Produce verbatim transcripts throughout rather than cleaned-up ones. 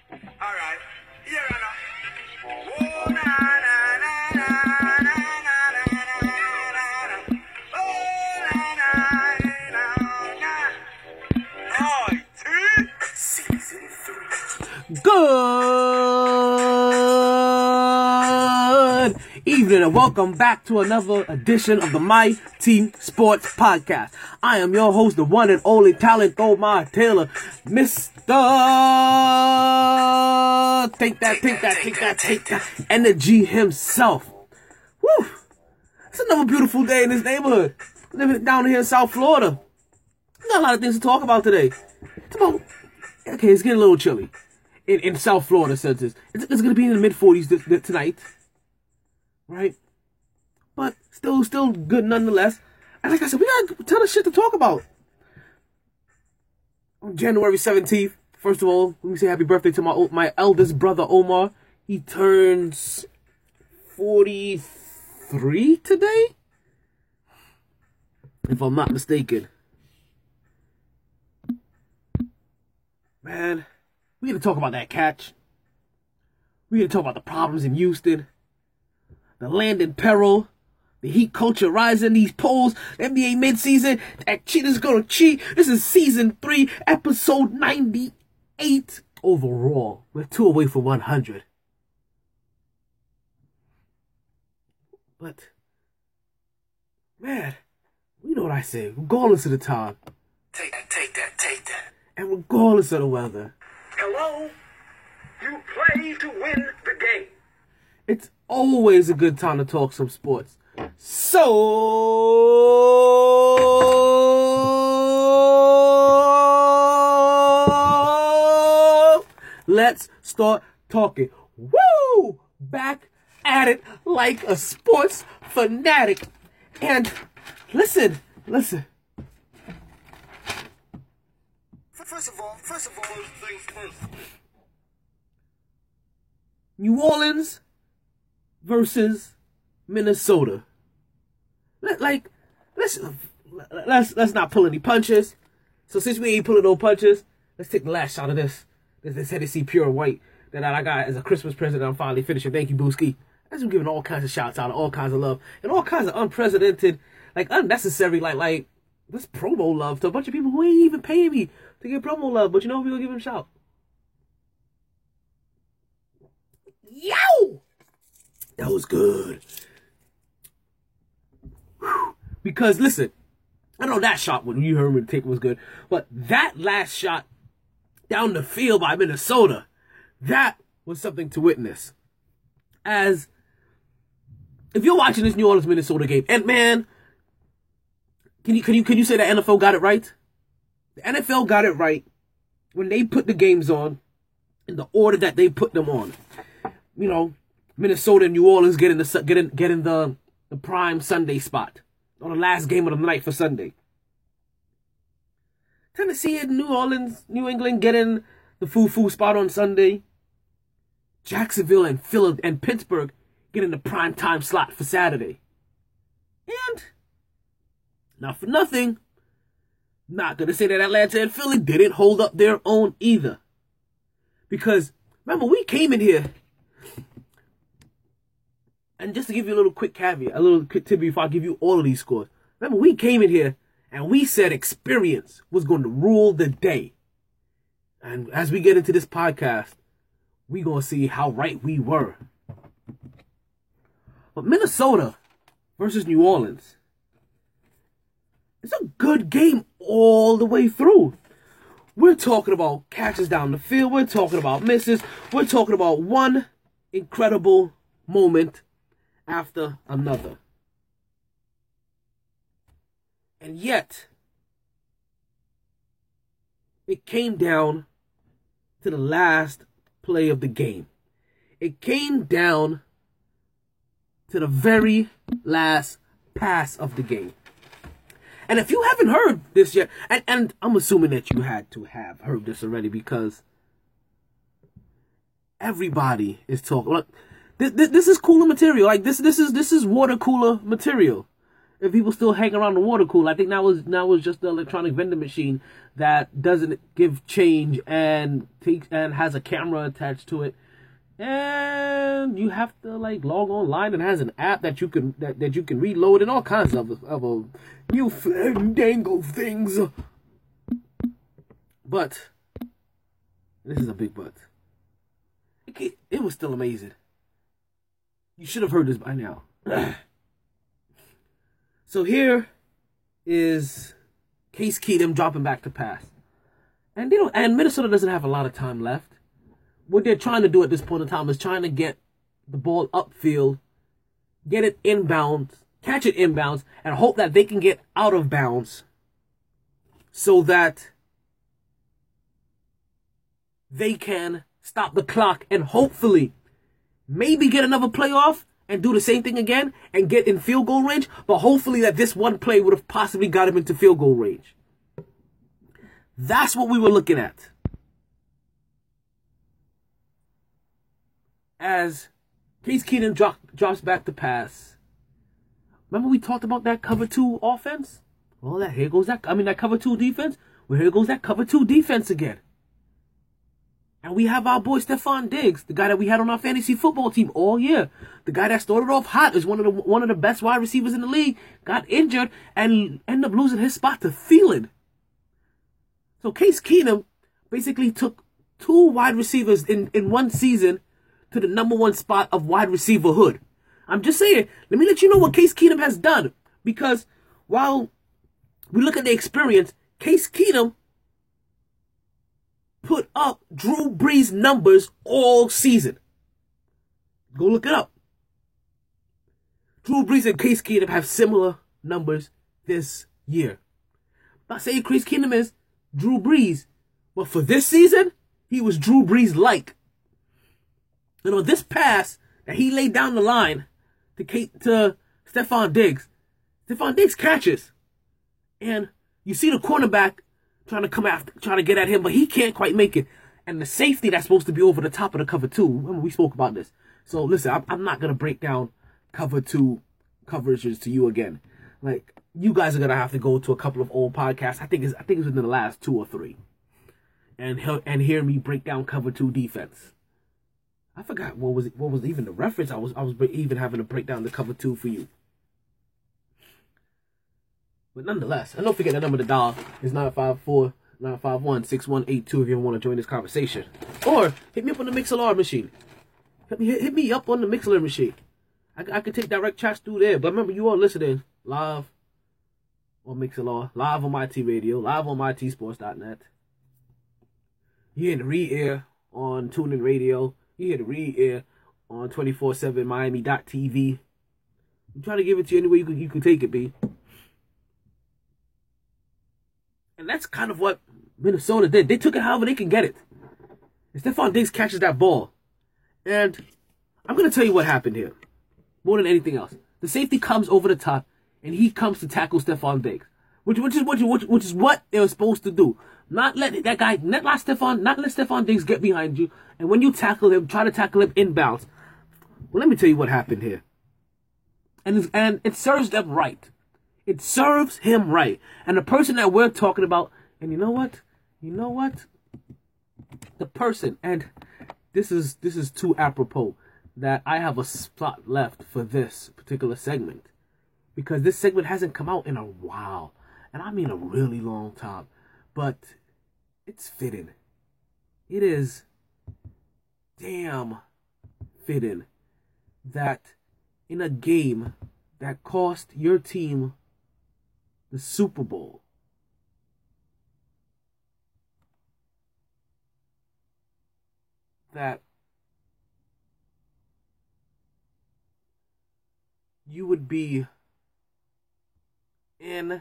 All right. Here I know. Oh, na, na, na, na, na, na, na, na, na. Oh, na, na, na, na. Oh, season three. Good evening and welcome back to another edition of the My Team Sports Podcast. I am your host, the one and only talent, Omar Taylor, Mister Take that, take that, take that, take that energy himself. Woo! It's another beautiful day in this neighborhood. Living down here in South Florida. We got a lot of things to talk about today. It's about, okay, it's getting a little chilly in, in South Florida since it's, it's, it's going to be in the mid forties th- th- tonight. Right? But still, still good nonetheless. And like I said, we got a ton of shit to talk about. On January seventeenth, first of all, let me say happy birthday to my my eldest brother, Omar. He turns forty-three today, if I'm not mistaken. Man, we gotta talk about that catch. We gotta talk about the problems in Houston. The land in peril. The heat culture rising, these polls, N B A midseason, that cheaters gonna cheat. This is season three, episode ninety-eight overall. We're two away from one hundred. But, man, you know what I say, regardless of the time. Take that, take that, take that. And regardless of the weather. Hello? You play to win the game. It's always a good time to talk some sports. So, let's start talking. Woo! Back at it like a sports fanatic. And listen, listen. First of all, first of all, things first. New Orleans versus Minnesota. Let, like, let's let's let's not pull any punches. So since we ain't pulling no punches, let's take the last shot of this. This, this Hennessy Pure White that I got as a Christmas present. I'm finally finishing. Thank you, Booski. As we're giving all kinds of shouts out, all kinds of love, and all kinds of unprecedented, like unnecessary, like like this promo love to a bunch of people who ain't even paying me to give promo love. But you know, we gonna give them a shout. Yo! That was good. Whew. Because, listen, I know that shot when you heard me take was good, but that last shot down the field by Minnesota, that was something to witness. As, if you're watching this New Orleans Minnesota game, and man, can you, can you, can you say the N F L got it right? The N F L got it right when they put the games on in the order that they put them on. You know, Minnesota and New Orleans getting the getting getting the the prime Sunday spot on the last game of the night for Sunday. Tennessee and New Orleans, New England getting the foo-foo spot on Sunday. Jacksonville and Philly and Pittsburgh getting the prime time slot for Saturday. And not for nothing, not gonna say that Atlanta and Philly didn't hold up their own either. Because remember, we came in here. And just to give you a little quick caveat, a little quick tip before I give you all of these scores. Remember, we came in here and we said experience was going to rule the day. And as we get into this podcast, we're going to see how right we were. But Minnesota versus New Orleans, it's a good game all the way through. We're talking about catches down the field. We're talking about misses. We're talking about one incredible moment after another. And yet, it came down to the last play of the game. It came down to the very last pass of the game. And if you haven't heard this yet, and, and I'm assuming that you had to have heard this already because everybody is talking. Look, This, this, this is cooler material. Like this, this is this is water cooler material. if people still hang around the water cooler. I think now was now was just the electronic vending machine that doesn't give change and takes and has a camera attached to it. And you have to like log online and has an app that you can that, that you can reload and all kinds of of a new fandangle things. But this is a big but. It, it was still amazing. You should have heard this by now. So here is Case Keenum dropping back to pass, and you know, and Minnesota doesn't have a lot of time left. What they're trying to do at this point in time is trying to get the ball upfield, get it inbounds, catch it inbounds, and hope that they can get out of bounds so that they can stop the clock and hopefully maybe get another playoff and do the same thing again and get in field goal range. But hopefully that this one play would have possibly got him into field goal range. That's what we were looking at. As Case Keenum drop, drops back to pass. Remember we talked about that cover two offense? Well, that here goes that. I mean that cover two defense. Well, here goes that cover two defense again. And we have our boy Stefon Diggs, the guy that we had on our fantasy football team all year. The guy that started off hot is one of the one of the best wide receivers in the league. Got injured and ended up losing his spot to Thielen. So Case Keenum basically took two wide receivers in, in one season to the number one spot of wide receiverhood. I'm just saying, let me let you know what Case Keenum has done. Because while we look at the experience, Case Keenum put up Drew Brees numbers all season. Go look it up. Drew Brees and Case Keenum have similar numbers this year. I'm not saying Case Keenum is Drew Brees, but for this season, he was Drew Brees-like. And on this pass that he laid down the line to Kate, to Stefon Diggs, Stefon Diggs catches. And you see the cornerback trying to come after, trying to get at him, but he can't quite make it. And the safety that's supposed to be over the top of the cover two, remember we spoke about this. So listen, I'm, I'm not going to break down cover two coverages to you again. Like, you guys are going to have to go to a couple of old podcasts. I think it's, I think it's within the last two or three. And, and hear me break down cover two defense. I forgot what was it, what was even the reference. I was I was even having to break down the cover two for you. But nonetheless, and don't forget the number to dial is nine five four, nine five one, six one eight two if you ever want to join this conversation. Or hit me up on the MixLR machine. Hit me, hit, hit me up on the MixLR machine. I, I can take direct chats through there. But remember, you are listening live on MixLR, live on my T Radio, live on my T sports dot net. You're in the re-air on TuneIn Radio. You hear the re-air on twenty-four seven Miami dot T V. I'm trying to give it to you any way you can, you can take it, B. And that's kind of what Minnesota did. They took it however they can get it. And Stefon Diggs catches that ball. And I'm going to tell you what happened here. More than anything else. The safety comes over the top, and he comes to tackle Stefon Diggs. Which, which, is, which, which, which is what they were supposed to do. Not let that guy, not let Stefon, not let Stefon Diggs get behind you. And when you tackle him, try to tackle him inbounds. Well, let me tell you what happened here. And, and it serves them right. It serves him right. And the person that we're talking about, and you know what? You know what? The person, and this is this is too apropos that I have a spot left for this particular segment. Because this segment hasn't come out in a while. And I mean a really long time. But it's fitting. It is damn fitting that in a game that cost your team the Super Bowl, that you would be in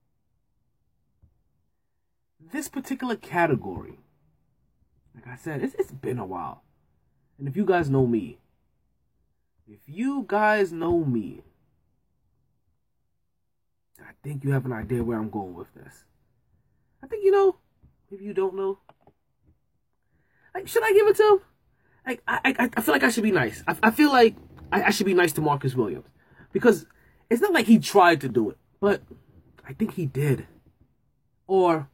this particular category. Like I said, it's, it's been a while. And if you guys know me, if you guys know me, I think you have an idea where I'm going with this. I think you know. If you don't know, like, should I give it to him? Like, I, I, I feel like I should be nice. I, I feel like I, I should be nice to Marcus Williams, because it's not like he tried to do it, but I think he did. Or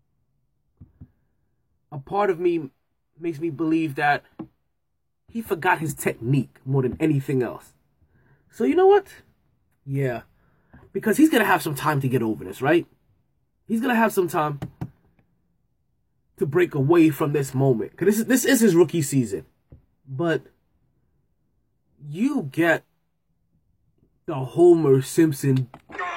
a part of me makes me believe that he forgot his technique more than anything else. So you know what? Yeah. Because he's going to have some time to get over this, right? He's going to have some time to break away from this moment. Because this is, this is his rookie season. But you get the Homer Simpson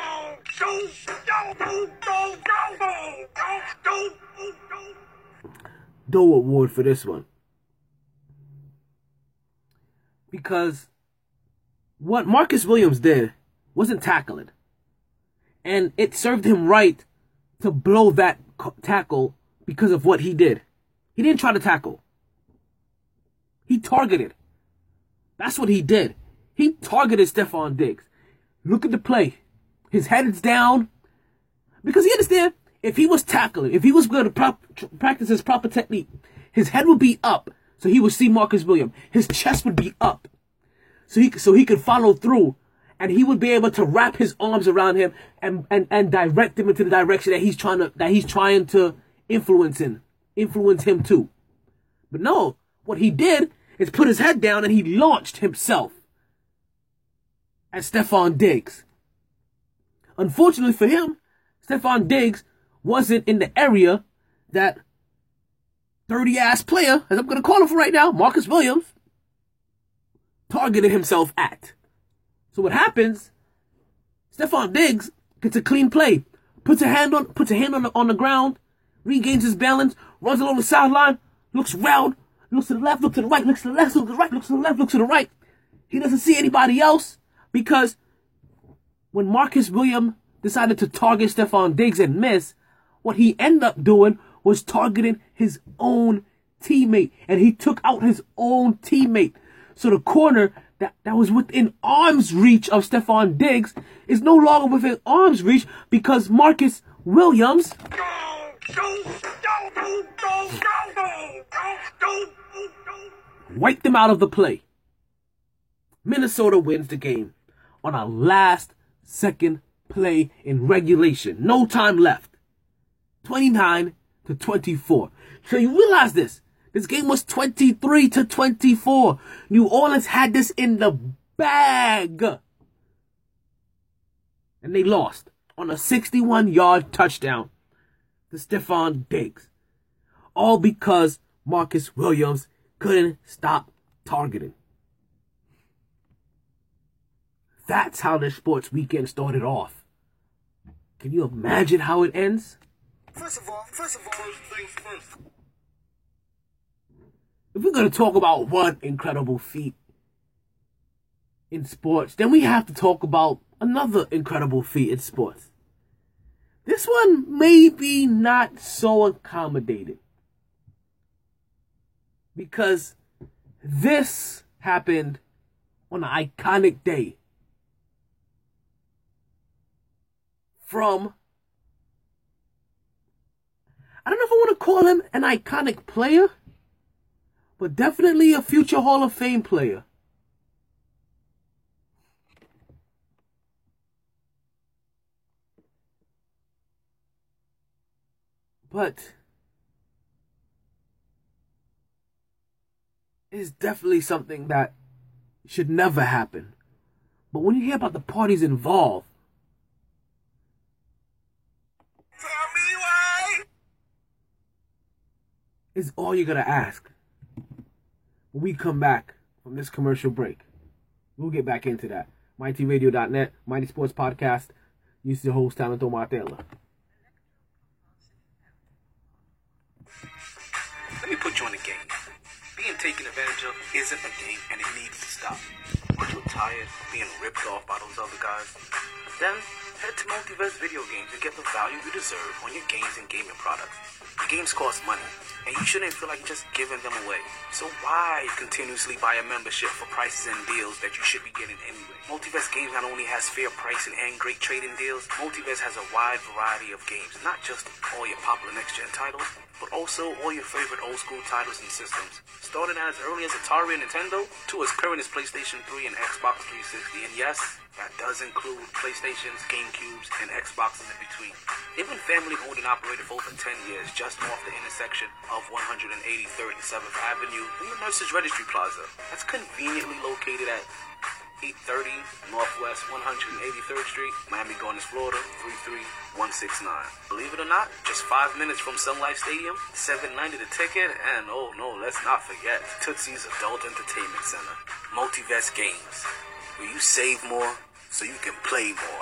Doe Award for this one. Because what Marcus Williams did wasn't tackling. And it served him right to blow that tackle because of what he did. He didn't try to tackle. He targeted. That's what he did. He targeted Stefon Diggs. Look at the play. His head is down. Because you understand, if he was tackling, if he was going to prop, practice his proper technique, his head would be up. So he would see Marcus Williams. His chest would be up. So he, so he could follow through. And he would be able to wrap his arms around him and, and, and direct him into the direction that he's trying to that he's trying to influence him. Influence him too. But no, what he did is put his head down and he launched himself at Stefon Diggs. Unfortunately for him, Stefon Diggs wasn't in the area that dirty-ass player, as I'm going to call him for right now, Marcus Williams, targeted himself at. So what happens, Stefon Diggs gets a clean play, puts a hand on puts a hand on the, on the ground, regains his balance, runs along the sideline, looks around, looks to the left, looks to the right, looks to the left, looks to the right, looks to the left, looks to the right. He doesn't see anybody else because when Marcus Williams decided to target Stefon Diggs and miss, what he ended up doing was targeting his own teammate, and he took out his own teammate. So the corner that, that was within arm's reach of Stefon Diggs is no longer within arm's reach because Marcus Williams wiped him out of the play. Minnesota wins the game on a last second play in regulation. No time left. twenty-nine to twenty-four. So you realize this. This game was twenty-three to twenty-four. New Orleans had this in the bag. And they lost on a sixty-one yard touchdown to Stefon Diggs. All because Marcus Williams couldn't stop targeting. That's how this sports weekend started off. Can you imagine how it ends? First of all, first of all, first things first. If we're going to talk about one incredible feat in sports, then we have to talk about another incredible feat in sports. This one may be not so accommodating because this happened on an iconic day from, I don't know if I want to call him an iconic player, but definitely a future Hall of Fame player. But it's definitely something that should never happen. But when you hear about the parties involved, Tell me why. is all you're going to ask. When we come back from this commercial break, we'll get back into that. mighty radio dot net, Mighty Sports Podcast. You see the host, Talento Martella. Let me put you on the game. Being taken advantage of isn't a game, and it needs to stop. Are you tired of being ripped off by those other guys? Then head to Multiverse Video Games and get the value you deserve on your games and gaming products. Games cost money, and you shouldn't feel like you're just giving them away. So why continuously buy a membership for prices and deals that you should be getting anyway? Multiverse Games not only has fair pricing and great trading deals, Multiverse has a wide variety of games, not just all your popular next-gen titles, but also all your favorite old-school titles and systems. Starting as early as Atari and Nintendo, to as current as PlayStation three and Xbox three sixty, and yes, That does include PlayStations, GameCubes, and Xboxes in between. They've been family owned and operated for over ten years, just off the intersection of one eighty-third and seventh Avenue near Nurses Registry Plaza. That's conveniently located at eight thirty Northwest one eighty-third Street, Miami Gardens, Florida, three three one six nine. Believe it or not, just five minutes from Sun Life Stadium, seven ninety the ticket, and oh no, let's not forget Tootsie's Adult Entertainment Center. Multiverse Games, where you save more so you can play more.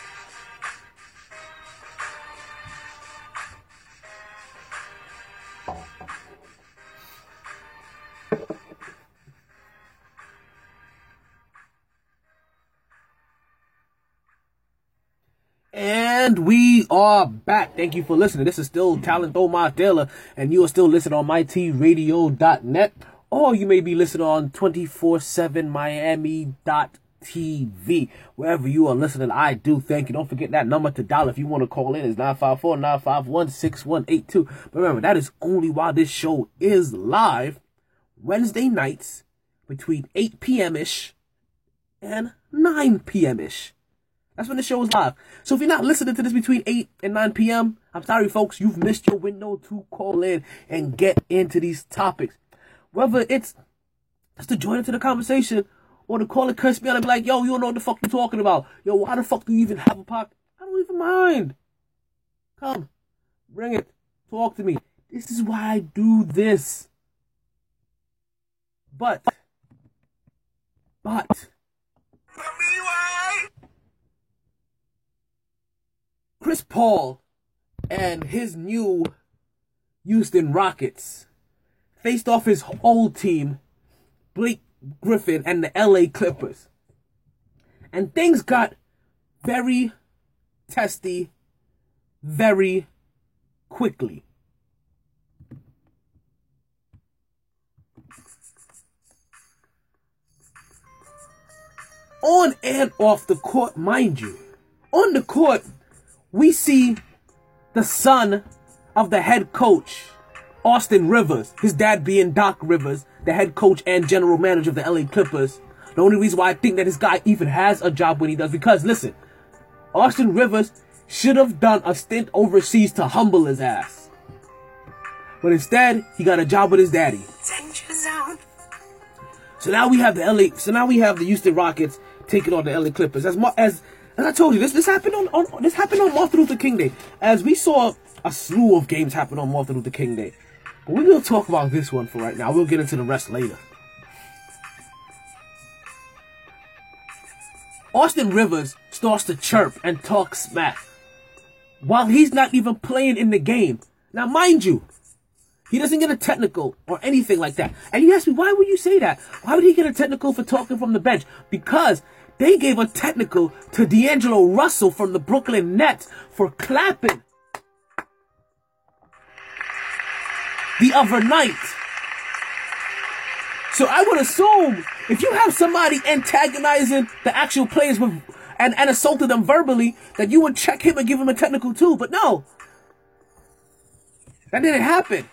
And we are back. Thank you for listening. This is still Talent Omar Taylor, and you are still listening on my t radio dot net, or you may be listening on twenty-four seven miami dot t v. Wherever you are listening, I do thank you. Don't forget that number to dial if you want to call in is nine five four, nine five one, six one eight two. But remember, that is only while this show is live Wednesday nights between eight p.m.-ish and nine p.m.-ish. That's when the show is live. So if you're not listening to this between eight and nine p.m., I'm sorry, folks. You've missed your window to call in and get into these topics. Whether it's just to join into the conversation or to call and curse me out and be like, yo, you don't know what the fuck you're talking about. Yo, why the fuck do you even have a podcast? I don't even mind. Come. Bring it. Talk to me. This is why I do this. But. But. Chris Paul and his new Houston Rockets faced off his old team, Blake Griffin and the L A Clippers. And things got very testy very quickly. On and off the court, mind you. On the court, we see the son of the head coach, Austin Rivers, his dad being Doc Rivers, the head coach and general manager of the L A Clippers. The only reason why I think that this guy even has a job when he does, because listen, Austin Rivers should have done a stint overseas to humble his ass. But instead, he got a job with his daddy. Danger zone. So now we have the L A, so now we have the Houston Rockets taking on the L A Clippers. As as As I told you, this this happened on, on this happened on Martin Luther King Day. As we saw a slew of games happen on Martin Luther King Day. But we're going to talk about this one for right now. We'll get into the rest later. Austin Rivers starts to chirp and talk smack while he's not even playing in the game. Now, mind you, he doesn't get a technical or anything like that. And you ask me, why would you say that? Why would he get a technical for talking from the bench? Because they gave a technical to D'Angelo Russell from the Brooklyn Nets for clapping the other night. So I would assume if you have somebody antagonizing the actual players with, and, and assaulted them verbally, that you would check him and give him a technical too. But no, that didn't happen.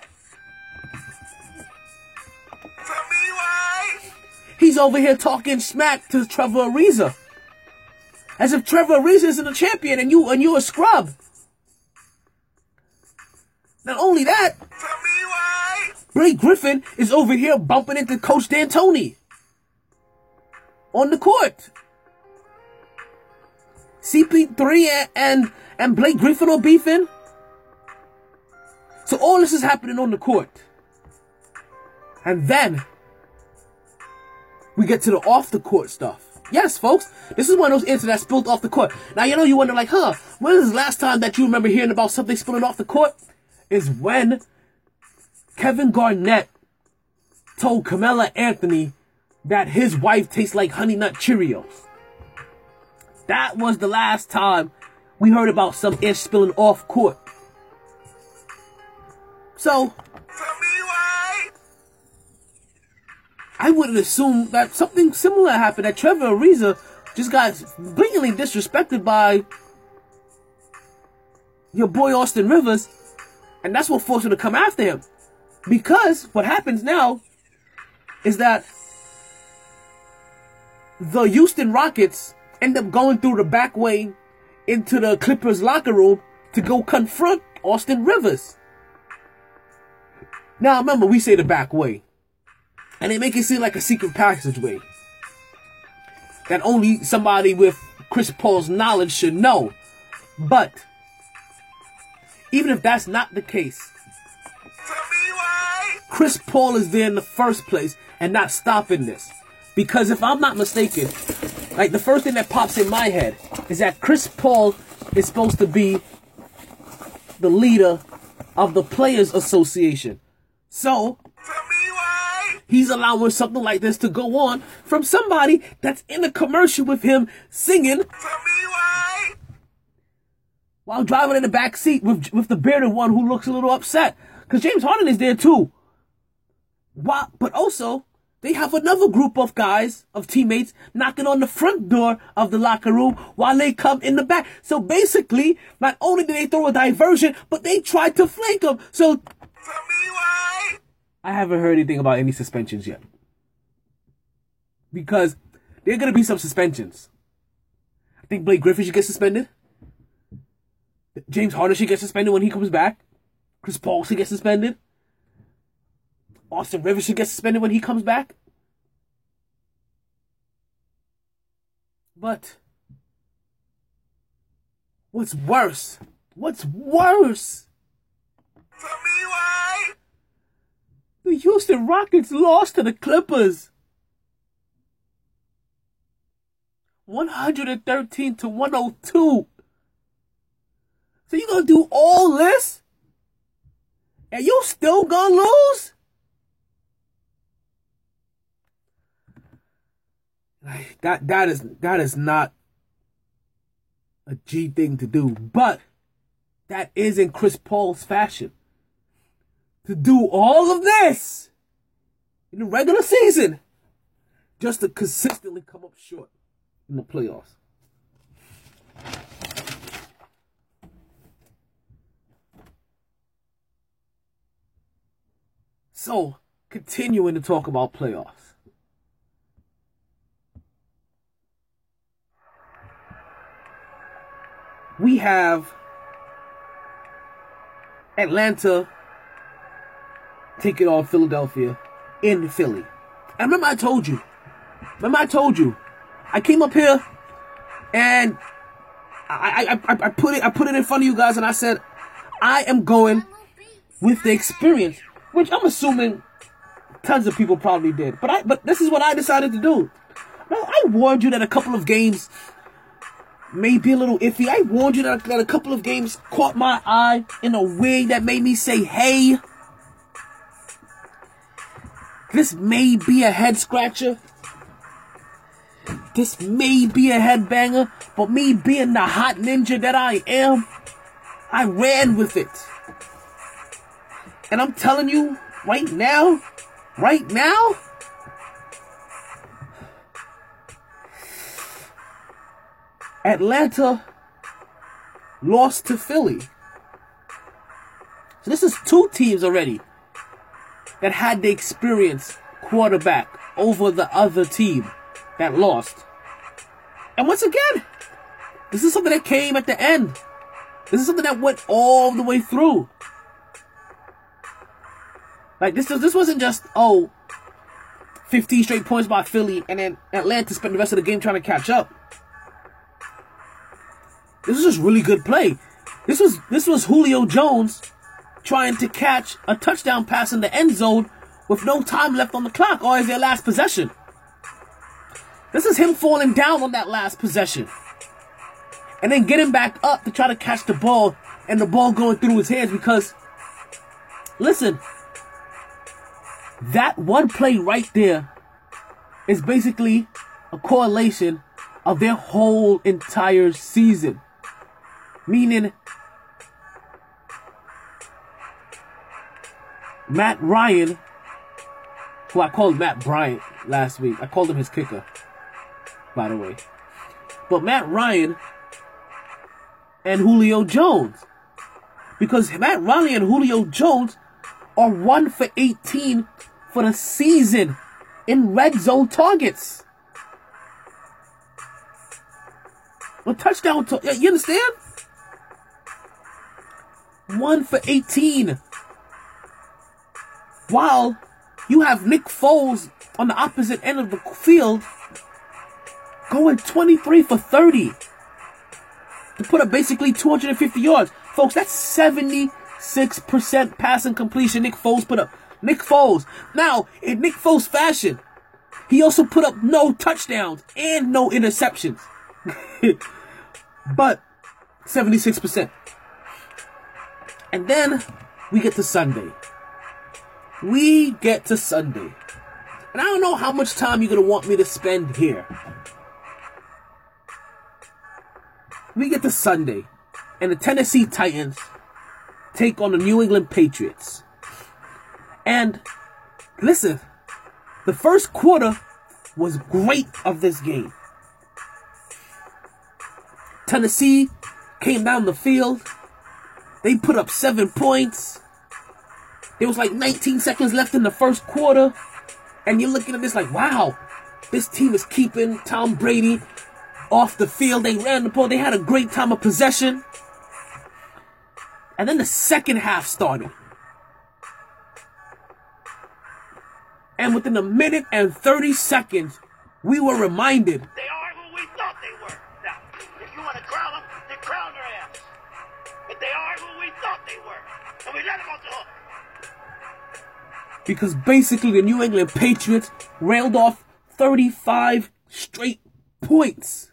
He's over here talking smack to Trevor Ariza, as if Trevor Ariza isn't a champion and you and you're a scrub. Not only that, Blake Griffin is over here bumping into Coach D'Antoni on the court. C P three and, and and Blake Griffin are beefing. So all this is happening on the court, and then we get to the off the court stuff. Yes, folks, this is one of those incidents that spilled off the court. Now, you know, you wonder, like, huh, when is the last time that you remember hearing about something spilling off the court? Is when Kevin Garnett told Carmelo Anthony that his wife tastes like Honey Nut Cheerios. That was the last time we heard about some ish spilling off court. So I wouldn't assume that something similar happened, that Trevor Ariza just got blatantly disrespected by your boy Austin Rivers, and that's what forced him to come after him. Because what happens now is that the Houston Rockets end up going through the back way into the Clippers locker room to go confront Austin Rivers. Now remember, we say the back way, and they make it seem like a secret passageway that only somebody with Chris Paul's knowledge should know. But even if that's not the case, Chris Paul is there in the first place and not stopping this. Because if I'm not mistaken, like the first thing that pops in my head is that Chris Paul is supposed to be the leader of the Players Association. So he's allowing something like this to go on from somebody that's in a commercial with him singing while driving in the back seat with, with the bearded one who looks a little upset. Because James Harden is there too. Why? But also, they have another group of guys, of teammates, knocking on the front door of the locker room while they come in the back. So basically, not only did they throw a diversion, but they tried to flank him. So I haven't heard anything about any suspensions yet. Because there are going to be some suspensions. I think Blake Griffin should get suspended. James Harden should get suspended when he comes back. Chris Paul should get suspended. Austin Rivers should get suspended when he comes back. But what's worse? What's worse? Tell me why. The Houston Rockets lost to the Clippers. one thirteen to one oh two. So you gonna do all this? And you still gonna lose? Like, that that is that is not a G thing to do, but that is in Chris Paul's fashion. To do all of this in the regular season just to consistently come up short in the playoffs. So, continuing to talk about playoffs. We have Atlanta taking on Philadelphia in Philly. And remember I told you, remember I told you, I came up here and I, I, I, I put it I put it in front of you guys and I said, I am going with the experience, which I'm assuming tons of people probably did. But I but this is what I decided to do. Now, I warned you that a couple of games may be a little iffy. I warned you that, that a couple of games caught my eye in a way that made me say, hey, this may be a head scratcher. This may be a headbanger. But me being the hot ninja that I am, I ran with it. And I'm telling you, right now, right now, Atlanta lost to Philly. So this is two teams already that had the experienced quarterback over the other team that lost. And once again, this is something that came at the end. This is something that went all the way through. Like, this, this wasn't just, oh, fifteen straight points by Philly and then Atlanta spent the rest of the game trying to catch up. This was just really good play. This was this was Julio Jones trying to catch a touchdown pass in the end zone with no time left on the clock, or is their last possession. This is him falling down on that last possession and then getting back up to try to catch the ball and the ball going through his hands because, listen, that one play right there is basically a correlation of their whole entire season. Meaning, Matt Ryan, who I called Matt Bryant last week. I called him his kicker, by the way. But Matt Ryan and Julio Jones. Because Matt Ryan and Julio Jones are one for eighteen for the season in red zone targets. a touchdown. To, you understand? One for eighteen. While you have Nick Foles on the opposite end of the field going twenty-three for thirty to put up basically two hundred fifty yards. Folks, that's seventy-six percent passing completion Nick Foles put up. Nick Foles. Now, in Nick Foles fashion, he also put up no touchdowns and no interceptions. But seventy-six percent. And then we get to Sunday. We get to Sunday. And I don't know how much time you're going to want me to spend here. We get to Sunday. And the Tennessee Titans take on the New England Patriots. And listen, the first quarter was great of this game. Tennessee came down the field. They put up seven points. There was like nineteen seconds left in the first quarter. And you're looking at this like, wow, this team is keeping Tom Brady off the field. They ran the ball. They had a great time of possession. And then the second half started. And within a minute and thirty seconds, we were reminded. They are who we thought they were. Now, if you want to crown them, then crown their ass. But they are who we thought they were. And we let them off the hook. Because basically the New England Patriots railed off thirty-five straight points.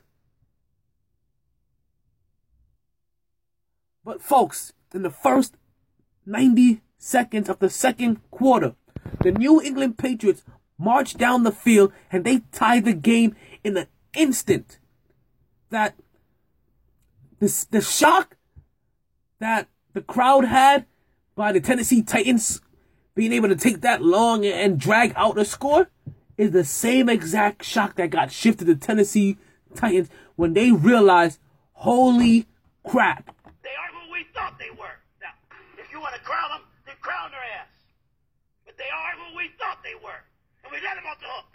But folks, in the first ninety seconds of the second quarter, the New England Patriots marched down the field and they tied the game in an instant. That this, the shock that the crowd had by the Tennessee Titans being able to take that long and drag out a score is the same exact shock that got shifted to Tennessee Titans when they realized, holy crap. They are who we thought they were. Now, if you want to crown them, then crown their ass. But they are who we thought they were. And we let them off the hook.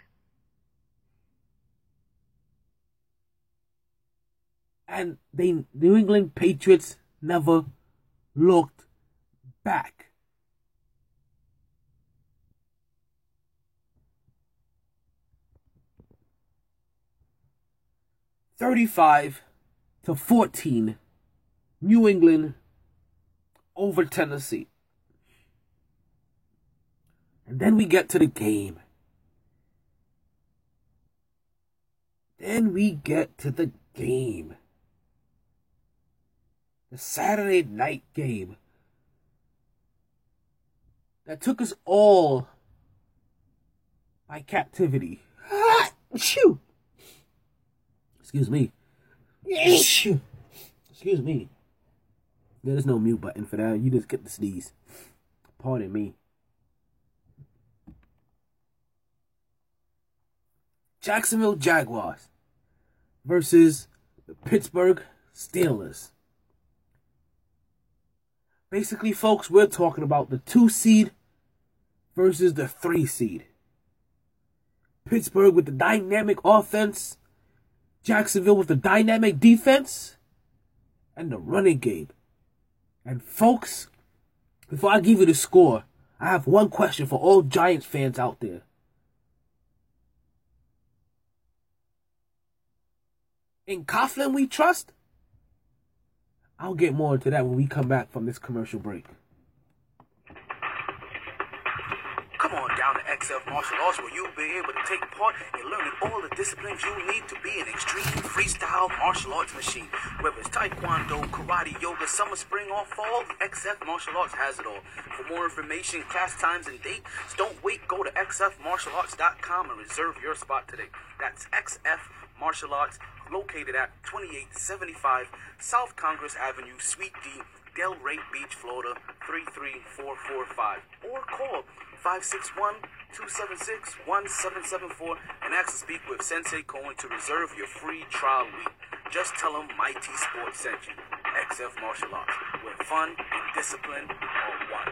And the New England Patriots never looked back. thirty-five to fourteen, New England over Tennessee. And then we get to the game. Then we get to the game. The Saturday night game that took us all by captivity. Ah, shoo. Excuse me. Excuse me. There's no mute button for that. You just get the sneeze. Pardon me. Jacksonville Jaguars versus the Pittsburgh Steelers. Basically, folks, we're talking about the two seed versus the three seed. Pittsburgh with the dynamic offense. Jacksonville with the dynamic defense and the running game. And folks, before I give you the score, I have one question for all Giants fans out there. In Coughlin we trust? I'll get more into that when we come back from this commercial break. Come on down to X F Martial Arts, where you'll be able to take part in learning all the disciplines you need to be an extreme freestyle martial arts machine. Whether it's Taekwondo, Karate, Yoga, summer, spring, or fall, X F Martial Arts has it all. For more information, class times, and dates, don't wait. Go to x f martial arts dot com and reserve your spot today. That's X F Martial Arts, located at twenty-eight seventy-five South Congress Avenue, Suite D, Delray Beach, Florida, three three four four five. Or call five six one, two seven six, one seven seven four and ask to speak with Sensei Cohen to reserve your free trial week. Just tell him Mighty Sports sent you. X F Martial Arts, where fun and discipline are one.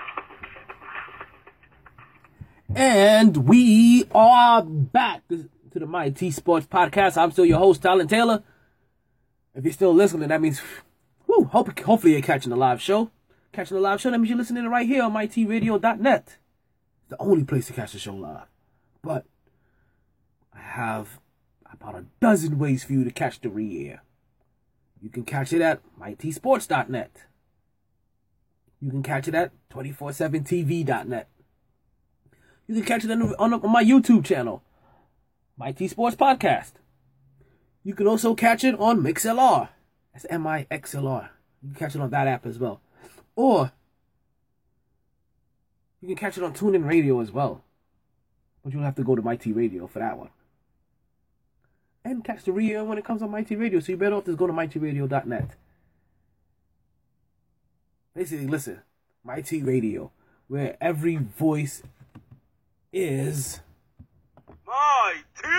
And we are back. to the Mighty Sports Podcast. I'm still your host, Talon Taylor. If you're still listening, that means, whew, hope, hopefully you're catching the live show. Catching the live show, that means you're listening right here on mighty radio dot net. It's the only place to catch the show live. But I have about a dozen ways for you to catch the re-air. You can catch it at mighty sports dot net. You can catch it at two four seven T V dot net. You can catch it on, on, on my YouTube channel, Mighty Sports Podcast. You can also catch it on MixLR. That's M I X L R. You can catch it on that app as well. Or you can catch it on TuneIn Radio as well. But you'll have to go to Mighty Radio for that one. And catch the re-air when it comes on Mighty Radio. So you better off just go to mighty radio dot net. Basically, listen, Mighty Radio, where every voice is Mighty.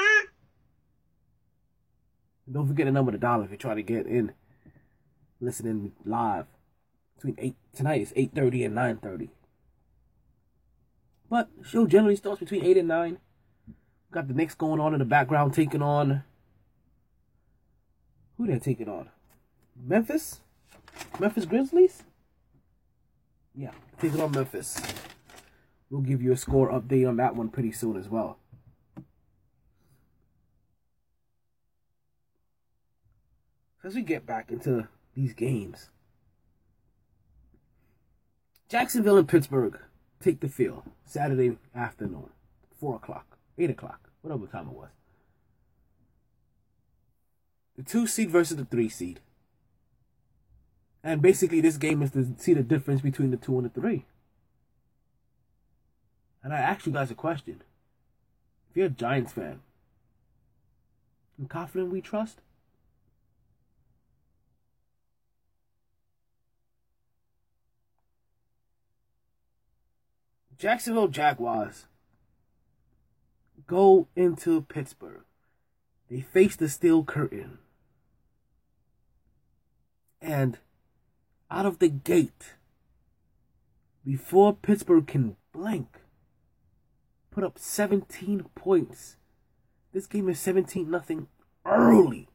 Don't forget the number of the dollar if you try to get in listening live. Between eight tonight it's eight thirty and nine thirty. But the show generally starts between eight and nine. Got the Knicks going on in the background, taking on who they're taking on? Memphis? Memphis Grizzlies? Yeah, taking on Memphis. We'll give you a score update on that one pretty soon as well. As we get back into these games, Jacksonville and Pittsburgh take the field Saturday afternoon, four o'clock, eight o'clock, whatever time it was. The two seed versus the three seed. And basically this game is to see the difference between the two and the three. And I ask you guys a question. If you're a Giants fan, in Coughlin we trust? Jacksonville Jaguars go into Pittsburgh. They face the steel curtain. And out of the gate, before Pittsburgh can blink, put up seventeen points. This game is seventeen nothing early.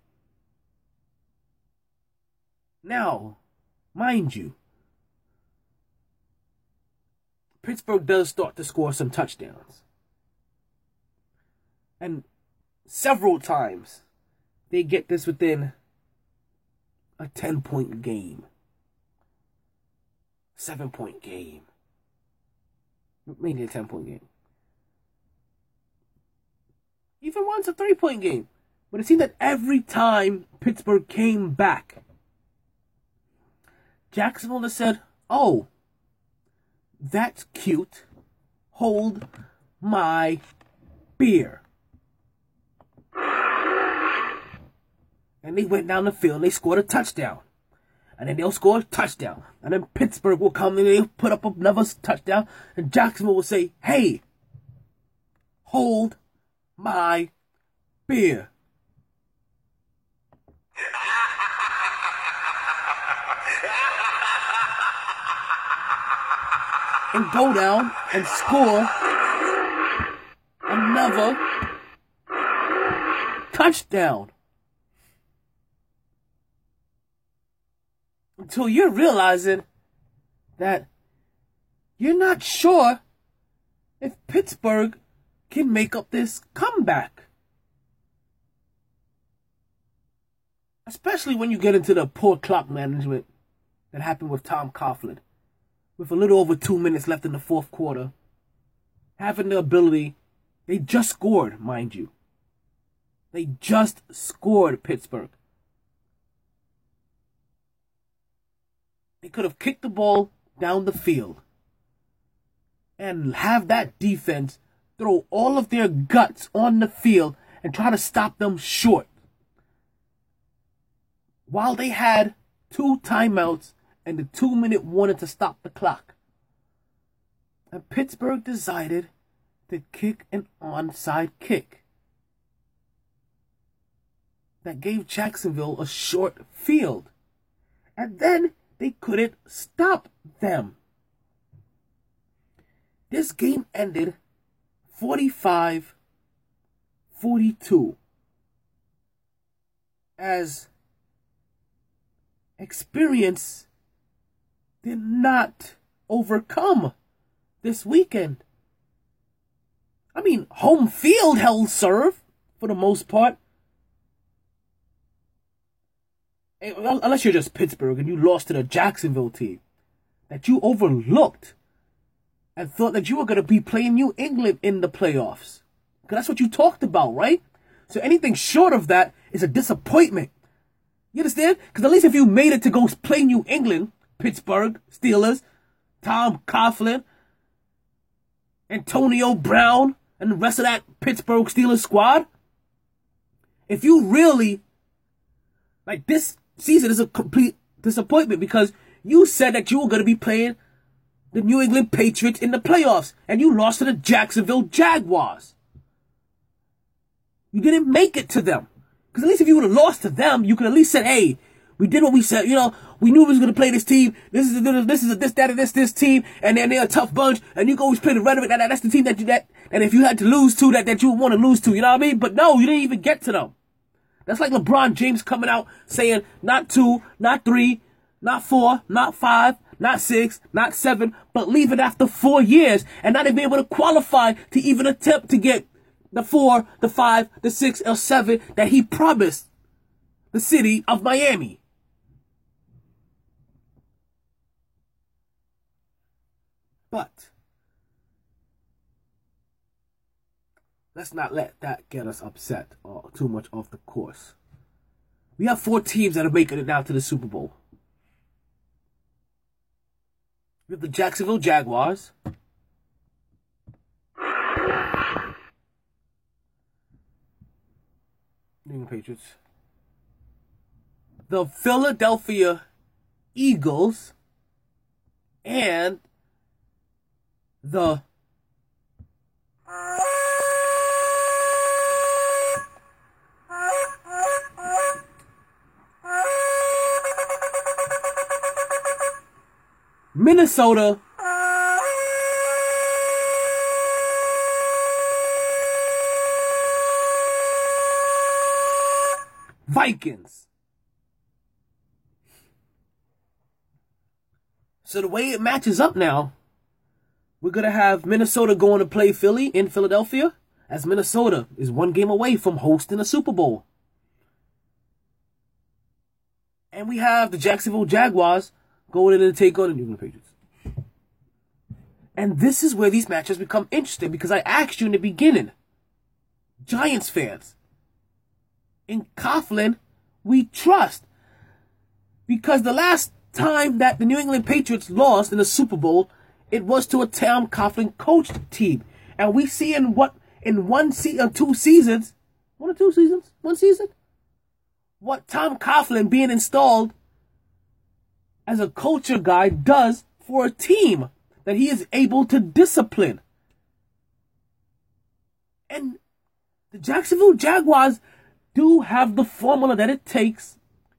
Now, mind you, Pittsburgh does start to score some touchdowns. And several times, they get this within a ten-point game. seven-point game. Maybe a ten-point game. Even once a three-point game. But it seemed that every time Pittsburgh came back, Jacksonville has said, oh, that's cute. Hold my beer. And they went down the field and they scored a touchdown. And then they'll score a touchdown. And then Pittsburgh will come and they'll put up another touchdown. And Jacksonville will say, hey, hold my beer. And go down and score another touchdown. Until you're realizing that you're not sure if Pittsburgh can make up this comeback. Especially when you get into the poor clock management that happened with Tom Coughlin. With a little over two minutes left in the fourth quarter, having the ability, they just scored, mind you. They just scored, Pittsburgh. They could have kicked the ball down the field and have that defense throw all of their guts on the field and try to stop them short. While they had two timeouts and the two-minute warning to stop the clock. And Pittsburgh decided to kick an onside kick that gave Jacksonville a short field. And then they couldn't stop them. This game ended forty-five forty-two. As experience did not overcome this weekend. I mean, home field held serve for the most part. Unless you're just Pittsburgh and you lost to the Jacksonville team that you overlooked and thought that you were going to be playing New England in the playoffs. Because that's what you talked about, right? So anything short of that is a disappointment. You understand? Because at least if you made it to go play New England, Pittsburgh Steelers, Tom Coughlin, Antonio Brown, and the rest of that Pittsburgh Steelers squad, if you really, like, this season is a complete disappointment because you said that you were going to be playing the New England Patriots in the playoffs, and you lost to the Jacksonville Jaguars. You didn't make it to them. Because at least if you would have lost to them, you could at least said, hey, we did what we said. You know, we knew we was going to play this team. This is a, this is a, this, that, and this, this team. And then they're a tough bunch. And you can always play the rhetoric. That, that, that's the team that you, that, and if you had to lose to, that, that you would want to lose to. You know what I mean? But no, you didn't even get to them. That's like LeBron James coming out saying, not two, not three, not four, not five, not six, not seven, but leaving after four years and not even be able to qualify to even attempt to get the four, the five, the six, or seven that he promised the city of Miami. But let's not let that get us upset or too much off the course. We have four teams that are making it now to the Super Bowl. We have the Jacksonville Jaguars, New England Patriots, the Philadelphia Eagles, and the Minnesota Vikings. So the way it matches up now, we're going to have Minnesota going to play Philly in Philadelphia, as Minnesota is one game away from hosting a Super Bowl. And we have the Jacksonville Jaguars going in and take on the New England Patriots. And this is where these matches become interesting, because I asked you in the beginning, Giants fans, in Coughlin, we trust. Because the last time that the New England Patriots lost in the Super Bowl, it was to a Tom Coughlin coached team. And we see in what, in one se- uh, two seasons, one or two seasons, one season, what Tom Coughlin being installed as a culture guy does for a team that he is able to discipline. And the Jacksonville Jaguars do have the formula that it takes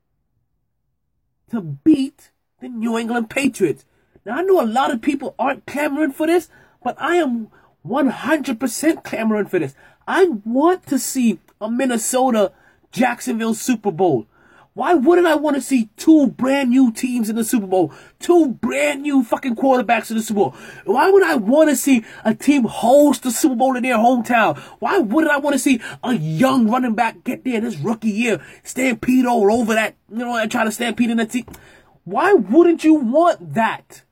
to beat the New England Patriots. Now, I know a lot of people aren't clamoring for this, but I am one hundred percent clamoring for this. I want to see a Minnesota Jacksonville Super Bowl. Why wouldn't I want to see two brand new teams in the Super Bowl? Two brand new fucking quarterbacks in the Super Bowl. Why would I want to see a team host the Super Bowl in their hometown? Why wouldn't I want to see a young running back get there this rookie year, stampede all over that, you know, and try to stampede in the team? Why wouldn't you want that?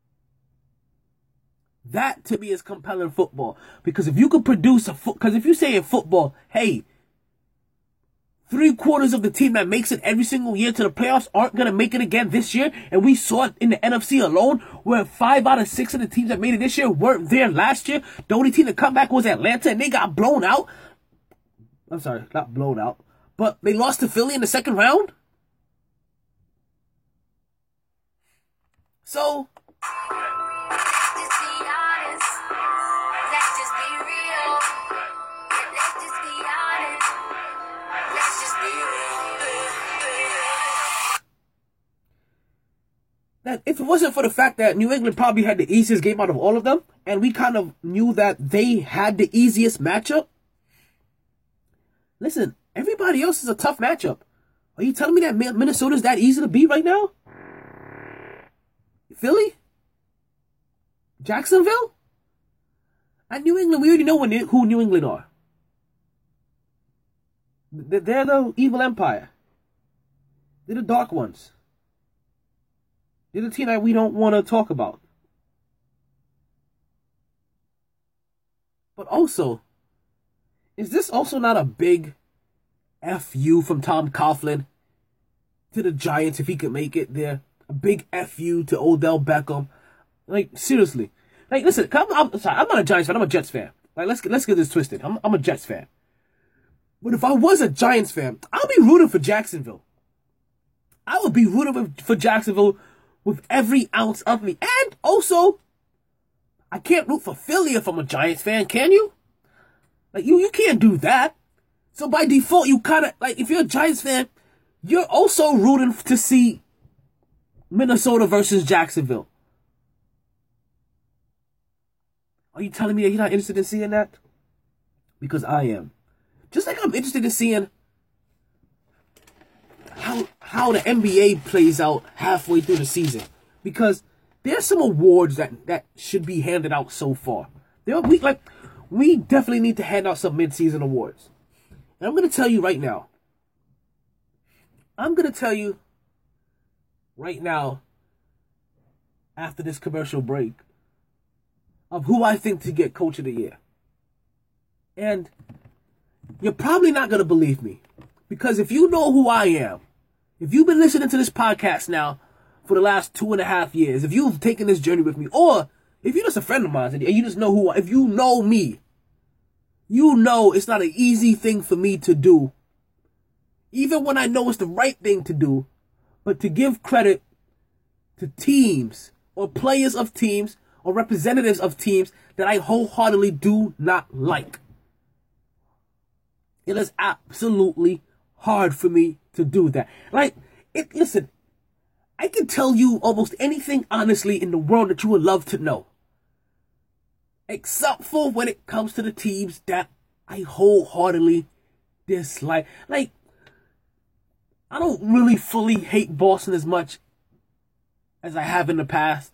That to me is compelling football. Because if you could produce a foot, because if you say in football, hey, three quarters of the team that makes it every single year to the playoffs aren't going to make it again this year. And we saw it in the N F C alone, where five out of six of the teams that made it this year weren't there last year. The only team to come back was Atlanta, and they got blown out. I'm sorry, not blown out, but they lost to Philly in the second round. So, that if it wasn't for the fact that New England probably had the easiest game out of all of them, and we kind of knew that they had the easiest matchup, Listen, everybody else is a tough matchup. Are you telling me that Minnesota's that easy to beat right now? Philly? Jacksonville? At New England, we already know who New England are. They're the evil empire. They're the dark ones. They're the team that we don't want to talk about. But also, is this also not a big F U from Tom Coughlin to the Giants if he could make it there? A big F U to Odell Beckham. Like, seriously. Like, listen, I'm, I'm sorry, I'm not a Giants fan, I'm a Jets fan. Like, let's get, let's get this twisted. I'm, I'm a Jets fan. But if I was a Giants fan, I'll be rooting for Jacksonville. I would be rooting for Jacksonville with every ounce of me. And also, I can't root for Philly if I'm a Giants fan, can you? Like, you, you can't do that. So by default, you kind of, like, if you're a Giants fan, you're also rooting to see Minnesota versus Jacksonville. Are you telling me that you're not interested in seeing that? Because I am. Just like I'm interested in seeing how how the N B A plays out halfway through the season. Because there's some awards that, that should be handed out so far. There are, we like we definitely need to hand out some mid-season awards. And I'm gonna tell you right now. I'm gonna tell you right now, after this commercial break, of who I think to get Coach of the Year. And you're probably not going to believe me. Because if you know who I am, if you've been listening to this podcast now for the last two and a half years, if you've taken this journey with me, or if you're just a friend of mine and you just know who I, if you know me, you know it's not an easy thing for me to do. Even when I know it's the right thing to do, but to give credit to teams or players of teams or representatives of teams that I wholeheartedly do not like. It is absolutely hard for me to do that. Like, it, listen, I can tell you almost anything honestly in the world that you would love to know. Except for when it comes to the teams that I wholeheartedly dislike. Like, I don't really fully hate Boston as much as I have in the past.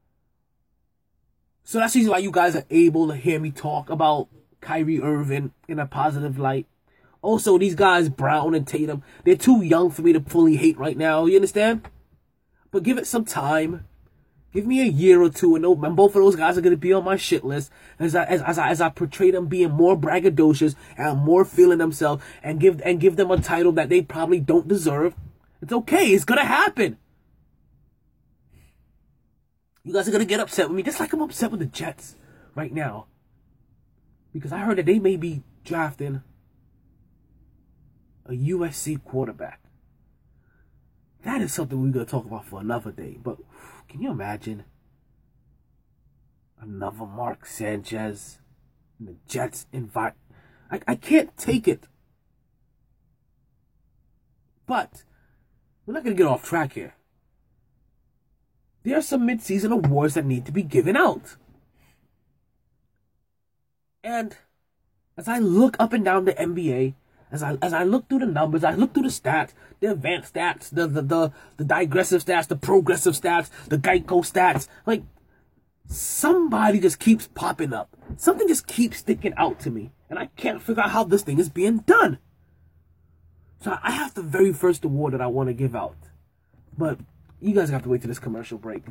So that's the reason why you guys are able to hear me talk about Kyrie Irving in a positive light. Also, these guys, Brown and Tatum, they're too young for me to fully hate right now. You understand? But give it some time. Give me a year or two, and, and both of those guys are going to be on my shit list as I, as, as, I, as I portray them being more braggadocious and more feeling themselves and give, and give them a title that they probably don't deserve. It's okay. It's going to happen. You guys are going to get upset with me, just like I'm upset with the Jets right now. Because I heard that they may be drafting a U S C quarterback. That is something we're going to talk about for another day. But can you imagine another Mark Sanchez and the Jets invite? I, I can't take it. But we're not going to get off track here. There are some mid-season awards that need to be given out. And as I look up and down the N B A, as I as I look through the numbers, I look through the stats, the advanced stats, the the the, the digressive stats, the progressive stats, the Geico stats, like somebody just keeps popping up. Something just keeps sticking out to me, and I can't figure out how this thing is being done. So I have the very first award that I want to give out, but you guys have to wait till this commercial break.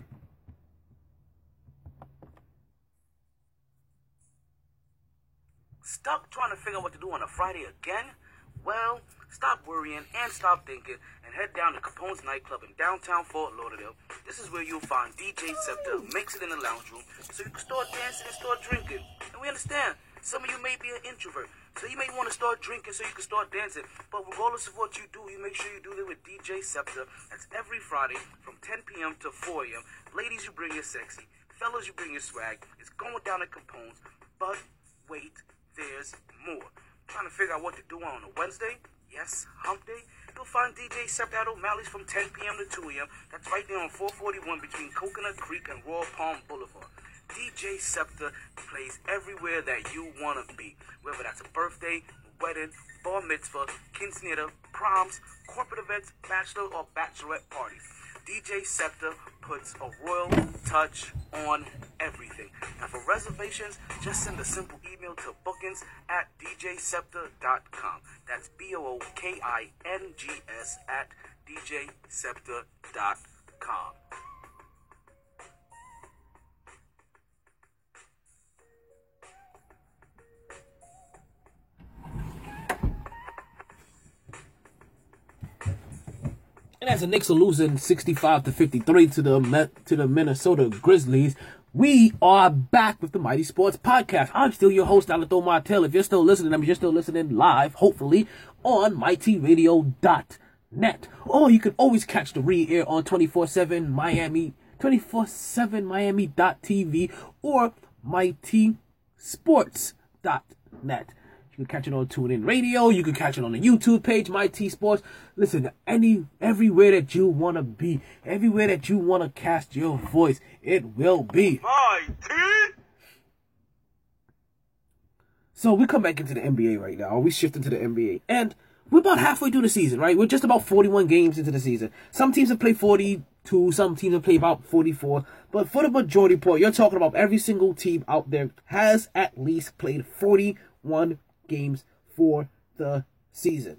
Stuck trying to figure out what to do on a Friday again? Well, stop worrying and stop thinking and head down to Capone's nightclub in downtown Fort Lauderdale. This is where you'll find D J Scepter who makes it in the lounge room so you can start dancing and start drinking. And we understand, some of you may be an introvert, so you may want to start drinking so you can start dancing. But regardless of what you do, you make sure you do it with D J Scepter. That's every Friday from ten p.m. to four a.m. Ladies, you bring your sexy. Fellas, you bring your swag. It's going down at Capone's. But wait, there's more. Trying to figure out what to do on a Wednesday? Yes, hump day? You'll find D J Scepter at O'Malley's from ten p.m. to two a.m. That's right there on four forty-one between Coconut Creek and Royal Palm Boulevard. D J Scepter plays everywhere that you want to be. Whether that's a birthday, wedding, bar mitzvah, quinceañera, proms, corporate events, bachelor or bachelorette parties. D J Scepter puts a royal touch on everything. And for reservations, just send a simple email to bookings at d j scepter dot com. That's B O O K I N G S at d j scepter dot com. And as the Knicks are losing sixty-five to fifty-three to the to the Minnesota Grizzlies, we are back with the Mighty Sports Podcast. I'm still your host, Alathon Martel. If you're still listening, I mean, you're still listening live, hopefully, on mighty radio dot net. Or you can always catch the re-air on twenty-four seven Miami, twenty-four seven Miami dot T V or mighty sports dot net. You can catch it on TuneIn Radio. You can catch it on the YouTube page, Mighty Sports. Listen, any everywhere that you want to be, everywhere that you want to cast your voice, it will be. Mighty! So we come back into the N B A right now. We shift into the N B A. And we're about halfway through the season, right? We're just about forty-one games into the season. Some teams have played forty-two. Some teams have played about forty-four. But for the majority part, you're talking about every single team out there has at least played forty-one games for the season.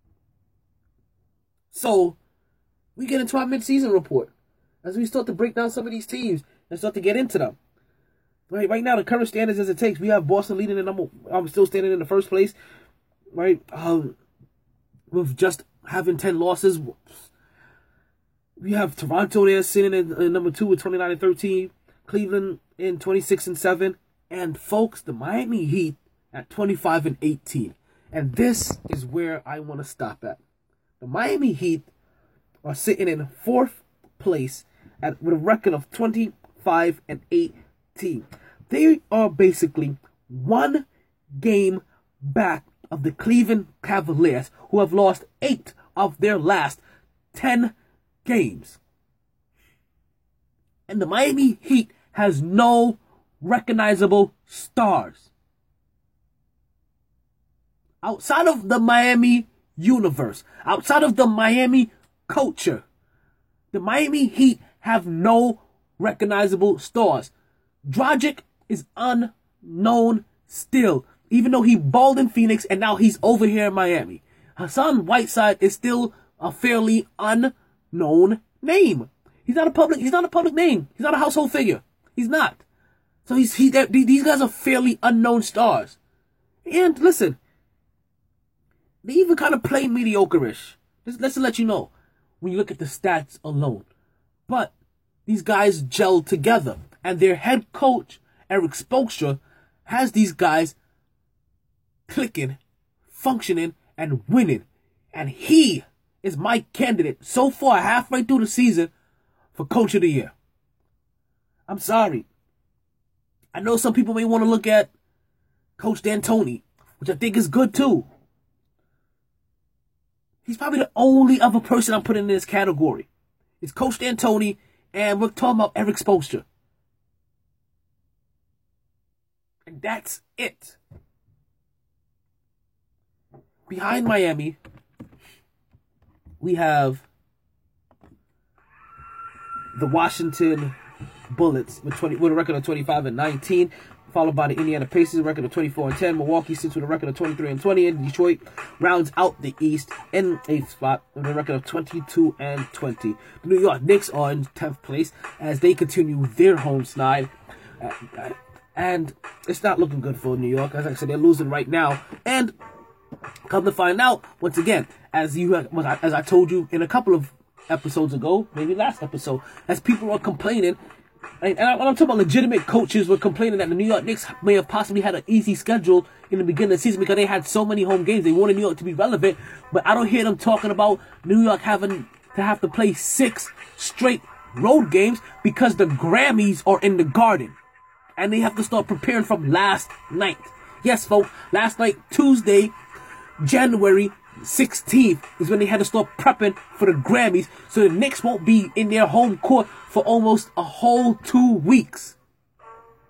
So we get into our mid-season report as we start to break down some of these teams and start to get into them. Right, right now, the current standards as it takes, we have Boston leading the number. I'm still standing in the first place. Right, um, with just having ten losses. We have Toronto there sitting in, in number two with twenty-nine and thirteen. Cleveland in twenty-six and seven, and folks, the Miami Heat at twenty-five and eighteen. And this is where I want to stop at. The Miami Heat are sitting in fourth place at with a record of twenty-five and eighteen. They are basically one game back of the Cleveland Cavaliers, who have lost eight of their last ten games. And the Miami Heat has no recognizable stars. Outside of the Miami universe, outside of the Miami culture, the Miami Heat have no recognizable stars. Dragic is unknown still, even though he balled in Phoenix and now he's over here in Miami. Hassan Whiteside is still a fairly unknown name. He's not a public. He's not a public name. He's not a household figure. He's not. So he's he. These guys are fairly unknown stars. And listen, they even kind of play mediocre-ish. Just, let's let you know when you look at the stats alone. But these guys gel together. And their head coach, Eric Spoelstra, has these guys clicking, functioning, and winning. And he is my candidate so far, halfway through the season, for Coach of the Year. I'm sorry. I know some people may want to look at Coach D'Antoni, which I think is good too. He's probably the only other person I'm putting in this category. It's Coach D'Antoni, and we're talking about Eric Spoelstra. And that's it. Behind Miami, we have the Washington Bullets with twenty with a record of twenty-five and nineteen. Followed by the Indiana Pacers, a record of twenty-four and ten. Milwaukee sits with a record of twenty-three and twenty. And Detroit rounds out the East in eighth spot with a record of twenty-two and twenty. The New York Knicks are in tenth place as they continue their home slide. And it's not looking good for New York. As I said, they're losing right now. And come to find out, once again, as you as I told you in a couple of episodes ago, maybe last episode, as people are complaining. And I'm talking about legitimate coaches were complaining that the New York Knicks may have possibly had an easy schedule in the beginning of the season because they had so many home games. They wanted New York to be relevant, but I don't hear them talking about New York having to have to play six straight road games because the Grammys are in the Garden. And they have to start preparing from last night. Yes, folks, last night, Tuesday, January sixteenth, is when they had to start prepping for the Grammys, so the Knicks won't be in their home court for almost a whole two weeks.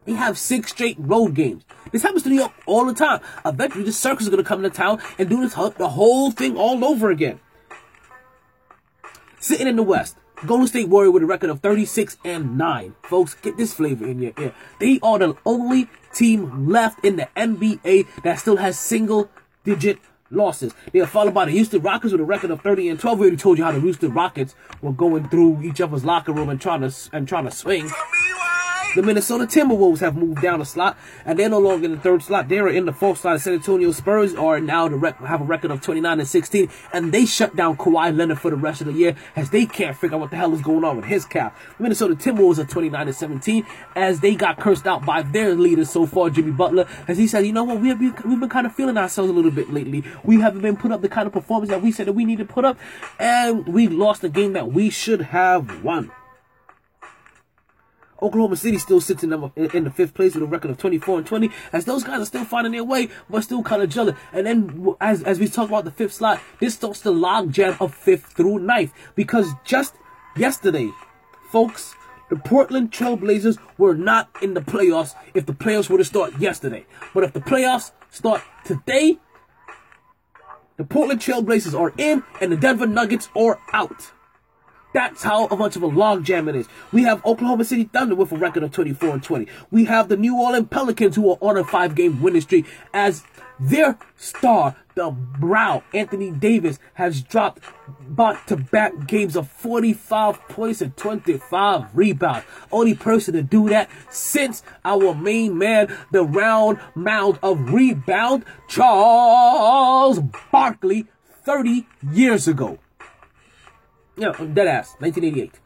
They have six straight road games. This happens to New York all the time. Eventually, the circus is going to come into town and do this the whole thing all over again. Sitting in the West, Golden State Warriors with a record of thirty-six and nine. Folks, get this flavor in your ear. They are the only team left in the N B A that still has single-digit losses. They are followed by the Houston Rockets with a record of thirty and twelve. We already told you how the Houston Rockets were going through each other's locker room and trying to and trying to swing. The Minnesota Timberwolves have moved down a slot, and they're no longer in the third slot. They are in the fourth slot. The San Antonio Spurs are now the rec- have a record of twenty-nine and sixteen, and they shut down Kawhi Leonard for the rest of the year as they can't figure out what the hell is going on with his cap. The Minnesota Timberwolves are twenty-nine and seventeen as they got cursed out by their leader so far, Jimmy Butler, as he said, you know what, we have been, we've been kind of feeling ourselves a little bit lately. We haven't been put up the kind of performance that we said that we need to put up, and we lost a game that we should have won. Oklahoma City still sits in the, in the fifth place with a record of twenty-four and twenty, as those guys are still finding their way, but still kind of gelling. And then, as as we talk about the fifth slot, this starts the log jam of fifth through ninth, because just yesterday, folks, the Portland Trailblazers were not in the playoffs if the playoffs were to start yesterday. But if the playoffs start today, the Portland Trailblazers are in, and the Denver Nuggets are out. That's how much of a logjam it is. We have Oklahoma City Thunder with a record of twenty-four and twenty. We have the New Orleans Pelicans who are on a five-game winning streak as their star, the Brow, Anthony Davis, has dropped back-to-back games of forty-five points and twenty-five rebounds. Only person to do that since our main man, the round mound of rebound, Charles Barkley, thirty years ago. Yeah, I'm dead ass. nineteen eighty-eight.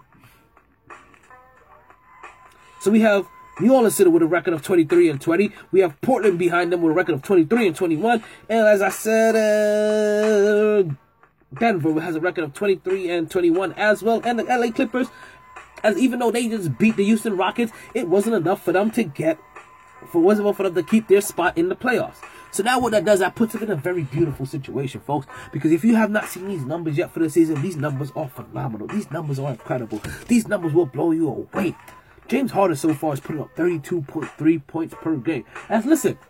So we have New Orleans City with a record of twenty-three and twenty. We have Portland behind them with a record of twenty-three and twenty-one. And as I said, uh, Denver has a record of twenty-three and twenty-one as well. And the L A Clippers, as even though they just beat the Houston Rockets, it wasn't enough for them to get, for wasn't enough for them to keep their spot in the playoffs. So now what that does, that puts them in a very beautiful situation, folks. Because if you have not seen these numbers yet for the season, these numbers are phenomenal. These numbers are incredible. These numbers will blow you away. James Harden so far is putting up thirty-two point three points per game. And listen,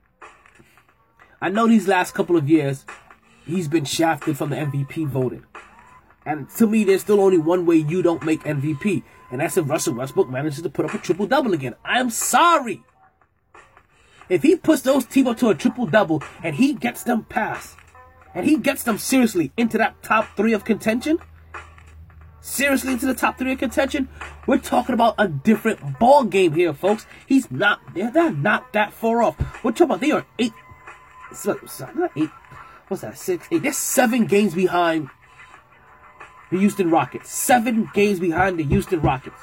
I know these last couple of years, he's been shafted from the M V P voting. And to me, there's still only one way you don't make M V P. And that's if Russell Westbrook manages to put up a triple-double again. I'm sorry. If he puts those team up to a triple-double and he gets them past, and he gets them seriously into that top three of contention, seriously into the top three of contention, we're talking about a different ball game here, folks. He's not, they're, they're not that far off. We're talking about they are eight, so, so, not eight, what's that, six, eight, they're seven games behind the Houston Rockets. Seven games behind the Houston Rockets.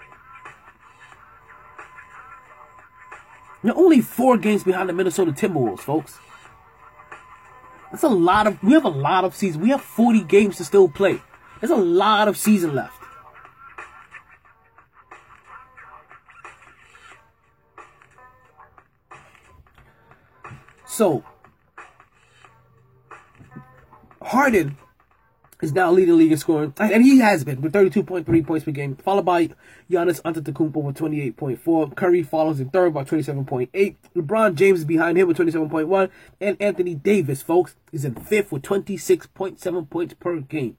They're only four games behind the Minnesota Timberwolves, folks. That's a lot of, we have a lot of season. We have forty games to still play. There's a lot of season left. So, Harden is now leading the league in scoring, and he has been with thirty-two point three points per game, followed by Giannis Antetokounmpo with twenty-eight point four. Curry follows in third by twenty-seven point eight. LeBron James is behind him with twenty-seven point one, and Anthony Davis, folks, is in fifth with twenty-six point seven points per game.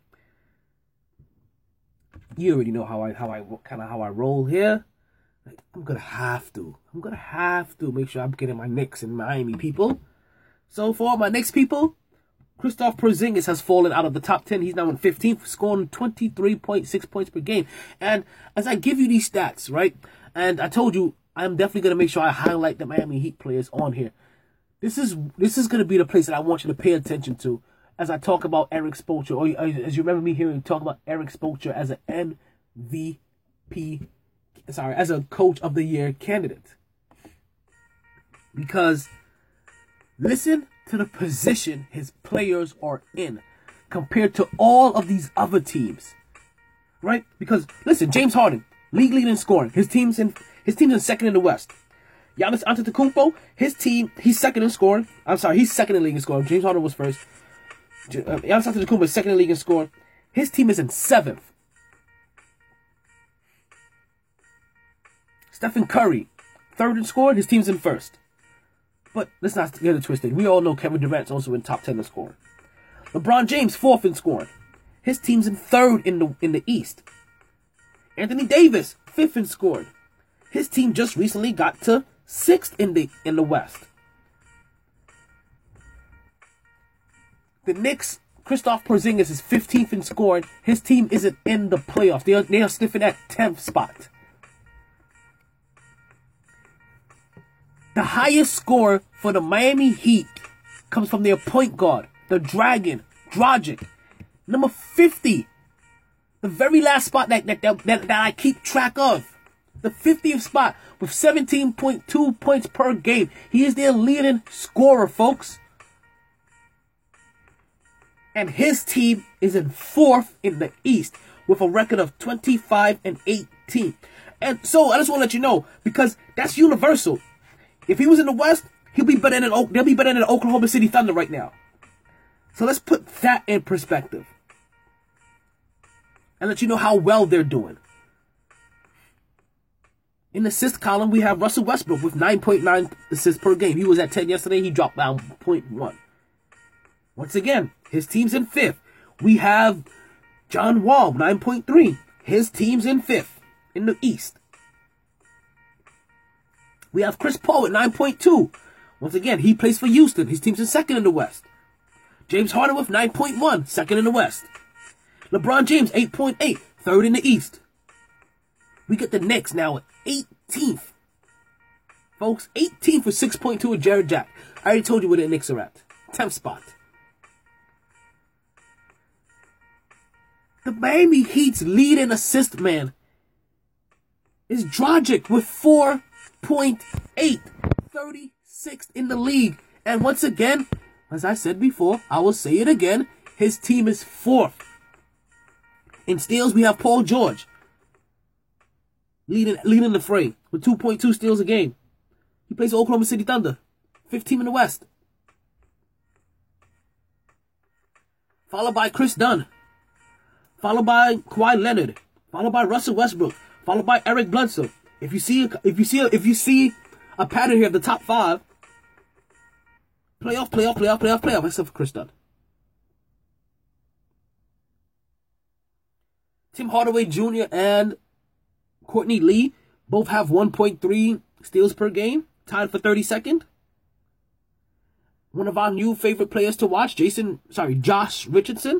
You already know how I how I kind of how I roll here. I'm gonna have to. I'm gonna have to make sure I'm getting my Knicks and Miami people. So for all my Knicks people, Kristaps Porzingis has fallen out of the top ten. He's now in fifteenth, scoring twenty-three point six points per game. And as I give you these stats, right, and I told you, I'm definitely going to make sure I highlight the Miami Heat players on here. This is this is going to be the place that I want you to pay attention to as I talk about Erik Spoelstra, or as you remember me hearing talk about Erik Spoelstra as an M V P, sorry, as a Coach of the Year candidate. Because, listen to the position his players are in compared to all of these other teams, right? Because listen, James Harden, league leading in scoring. His team's in his team's in second in the West. Giannis Antetokounmpo, his team, he's second in scoring. I'm sorry, he's second in league in scoring. James Harden was first. Uh, Giannis Antetokounmpo is second in league in scoring. His team is in seventh. Stephen Curry, third in scoring. His team's in first. But let's not get it twisted. We all know Kevin Durant's also in top ten in scoring. LeBron James, fourth in scoring. His team's in third in the in the East. Anthony Davis, fifth in scoring. His team just recently got to sixth in the in the West. The Knicks, Kristaps Porzingis is fifteenth in scoring. His team isn't in the playoffs. They are, they are sniffing at tenth spot. The highest score for the Miami Heat comes from their point guard, the Dragon, Dragic. Number fifty. The very last spot that, that, that, that, that I keep track of. The fiftieth spot with seventeen point two points per game. He is their leading scorer, folks. And his team is in fourth in the East with a record of twenty-five and eighteen. And so I just want to let you know, because that's universal. If he was in the West, he'll be better than they'll be better than the Oklahoma City Thunder right now. So let's put that in perspective. And let you know how well they're doing. In the assist column, we have Russell Westbrook with nine point nine assists per game. He was at ten yesterday. He dropped down zero point one. Once again, his team's in fifth. We have John Wall, nine point three. His team's in fifth in the East. We have Chris Paul at nine point two. Once again, he plays for Houston. His team's in second in the West. James Harden with nine point one, second in the West. LeBron James, eight point eight, third in the East. We get the Knicks now at eighteenth. Folks, eighteenth with six point two with Jared Jack. I already told you where the Knicks are at. tenth spot. The Miami Heat's leading assist man is Dragic with four point eight. thirty-sixth in the league. And once again, as I said before, I will say it again, his team is fourth. In steals, we have Paul George leading, leading the fray with two point two steals a game. He plays for Oklahoma City Thunder, fifteenth in the West. Followed by Chris Dunn. Followed by Kawhi Leonard. Followed by Russell Westbrook. Followed by Eric Bledsoe. If you see, if you see, if you see a pattern here of the top five, playoff, playoff, playoff, playoff, playoff, except for Chris Dunn. Tim Hardaway Junior and Courtney Lee both have one point three steals per game, tied for thirty-second. One of our new favorite players to watch, Jason, sorry, Josh Richardson,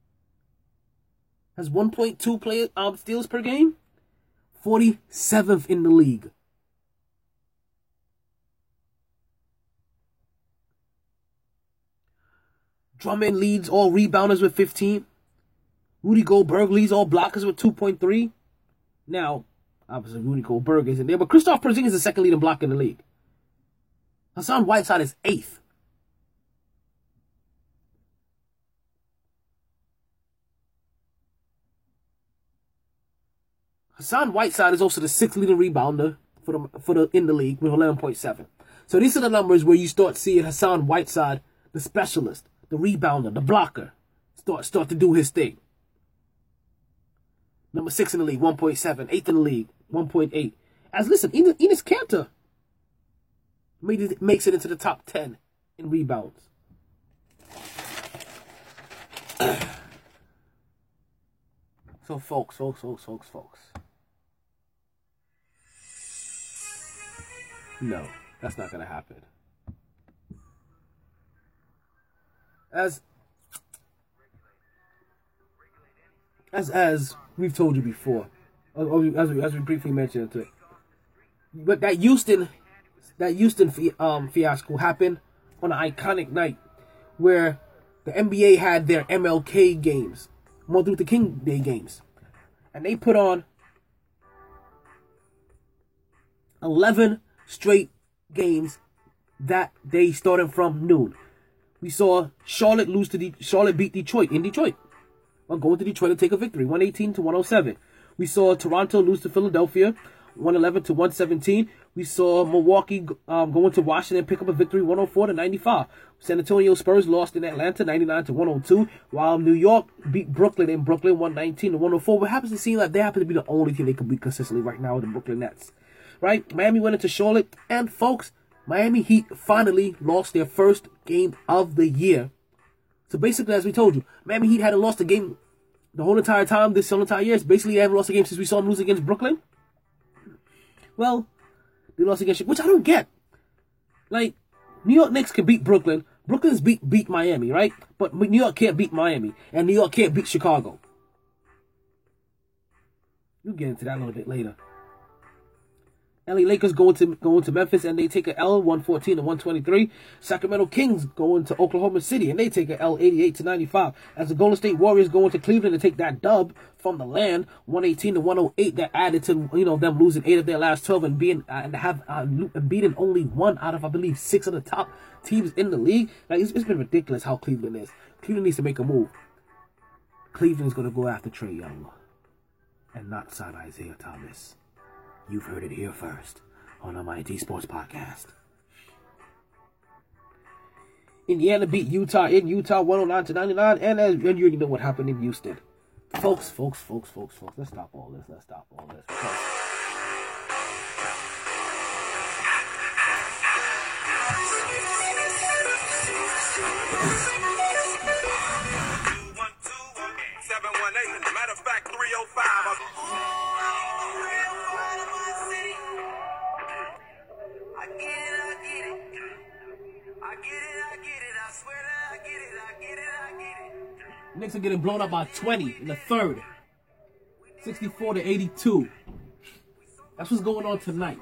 has one point two play, um, steals per game, forty-seventh in the league. Drummond leads all rebounders with fifteen. Rudy Gobert leads all blockers with two point three. Now, obviously Rudy Gobert isn't there, but Kristaps Porzingis is the second leading blocker in the league. Hassan Whiteside is eighth. Hassan Whiteside is also the sixth leading rebounder for the for the in the league with eleven point seven. So these are the numbers where you start seeing Hassan Whiteside, the specialist, the rebounder, the blocker, start start to do his thing. Number six in the league, one point seven. Eighth in the league, one point eight. As listen, Enes, Enes Kanter made it, makes it into the top ten in rebounds. So folks, folks, folks, folks, folks. No, that's not going to happen. As, as, as we've told you before, or as we, as we briefly mentioned it, but that Houston, that Houston um, fiasco happened on an iconic night where the N B A had their M L K games, Martin Luther King Day games, and they put on eleven straight games that day starting from noon. We saw Charlotte lose to De- Charlotte beat Detroit in Detroit. Well, going to Detroit to take a victory, one eighteen to one oh seven. We saw Toronto lose to Philadelphia, one eleven to one seventeen. We saw Milwaukee um, going to Washington pick up a victory, one oh four to ninety-five. San Antonio Spurs lost in Atlanta, ninety-nine to one oh two, while New York beat Brooklyn in Brooklyn, one nineteen to one oh four. What happens to seem like they happen to be the only team they can beat consistently right now with the Brooklyn Nets. right? Miami went into Charlotte, and folks, Miami Heat finally lost their first game of the year. So basically, as we told you, Miami Heat hadn't lost a game the whole entire time, this whole entire year. Basically, they haven't lost a game since we saw them lose against Brooklyn. Well, they lost against, which I don't get. Like, New York Knicks can beat Brooklyn. Brooklyn's beat beat Miami, right? But New York can't beat Miami, and New York can't beat Chicago. We'll get into that a little bit later. L A Lakers going to going to Memphis, and they take a L, one fourteen to one twenty-three. Sacramento Kings going to Oklahoma City, and they take a L, eighty-eight to ninety-five. As the Golden State Warriors go into Cleveland to take that dub from the land, one eighteen to one oh eight. That added to, you know, them losing eight of their last twelve and being uh, and have uh, beating only one out of, I believe, six of the top teams in the league. Like, it's, it's been ridiculous how Cleveland is. Cleveland needs to make a move. Cleveland's gonna go after Trae Young, and not sign Isaiah Thomas. You've heard it here first on the Mighty Sports Podcast. Indiana beat Utah in Utah one oh nine to ninety-nine, and, as, and you already know what happened in Houston. Folks, folks, folks, folks, folks, let's stop all this. Let's stop all this. Because seven one eight, matter of fact, three oh five. Knicks are getting blown up by twenty in the third. sixty-four to eighty-two. That's what's going on tonight.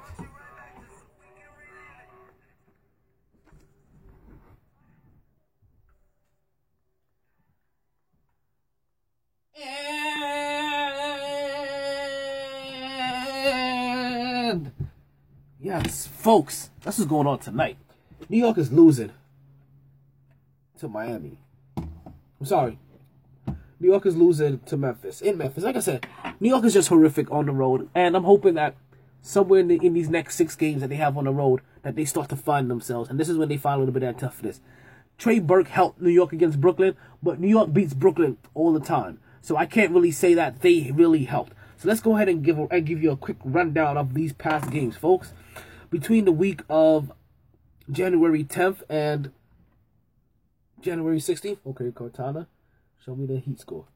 And yes, folks, that's what's going on tonight. New York is losing to Miami. I'm sorry. New York is losing to Memphis. In Memphis, like I said, New York is just horrific on the road. And I'm hoping that somewhere in, the, in these next six games that they have on the road, that they start to find themselves. And this is when they find a little bit of that toughness. Trey Burke helped New York against Brooklyn, but New York beats Brooklyn all the time. So I can't really say that they really helped. So let's go ahead and give, and give you a quick rundown of these past games, folks. Between the week of January tenth and January sixteenth. Okay, Cortana, show me the Heat score.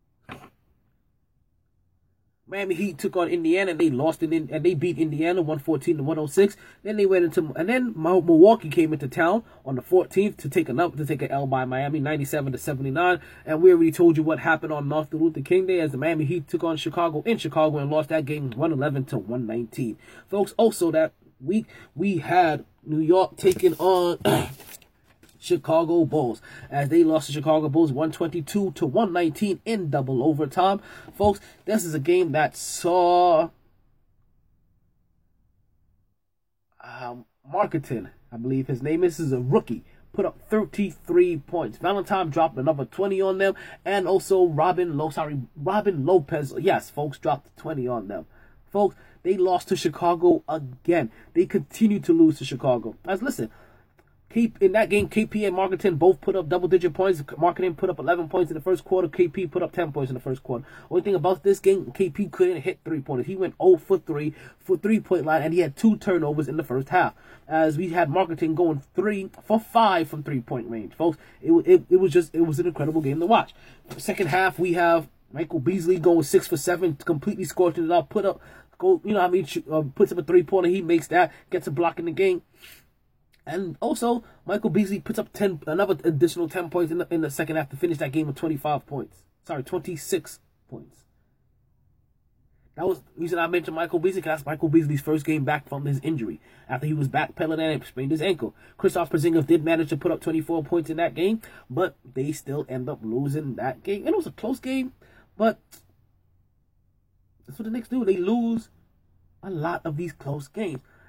Miami Heat took on Indiana, and they lost it in, and they beat Indiana one fourteen to one oh six. Then they went into, and then Milwaukee came into town on the fourteenth to take another to take an L by Miami, ninety-seven to seventy-nine. And we already told you what happened on Martin Luther King Day as the Miami Heat took on Chicago in Chicago and lost that game one eleven to one nineteen. Folks, also that week we had New York taking on Chicago Bulls as they lost to Chicago Bulls one twenty-two to one nineteen in double overtime. Folks, this is a game that saw um, Marketing, I believe his name is, is a rookie, put up thirty-three points. Valentine dropped another twenty on them, and also Robin Lo sorry Robin Lopez, yes, folks, dropped twenty on them. Folks, they lost to Chicago again. They continue to lose to Chicago. As listen, Keep in that game, K P and Marketing both put up double-digit points. Marketing put up eleven points in the first quarter. K P put up ten points in the first quarter. Only thing about this game, K P couldn't hit three-pointers. He went zero for three for three-point line, and he had two turnovers in the first half. As we had Marketing going three for five from three-point range, folks. It, it, it was just, it was an incredible game to watch. Second half, we have Michael Beasley going six for seven, completely scorching it up, put up, go, you know, I mean, uh, puts up a three-pointer. He makes that, gets a block in the game. And also, Michael Beasley puts up ten, another additional ten points in the, in the second half to finish that game with twenty-five points. Sorry, twenty-six points. That was the reason I mentioned Michael Beasley, because that's Michael Beasley's first game back from his injury, after he was backpedaling and sprained his ankle. Kristaps Porzingis did manage to put up twenty-four points in that game, but they still end up losing that game. And it was a close game, but that's what the Knicks do. They lose a lot of these close games.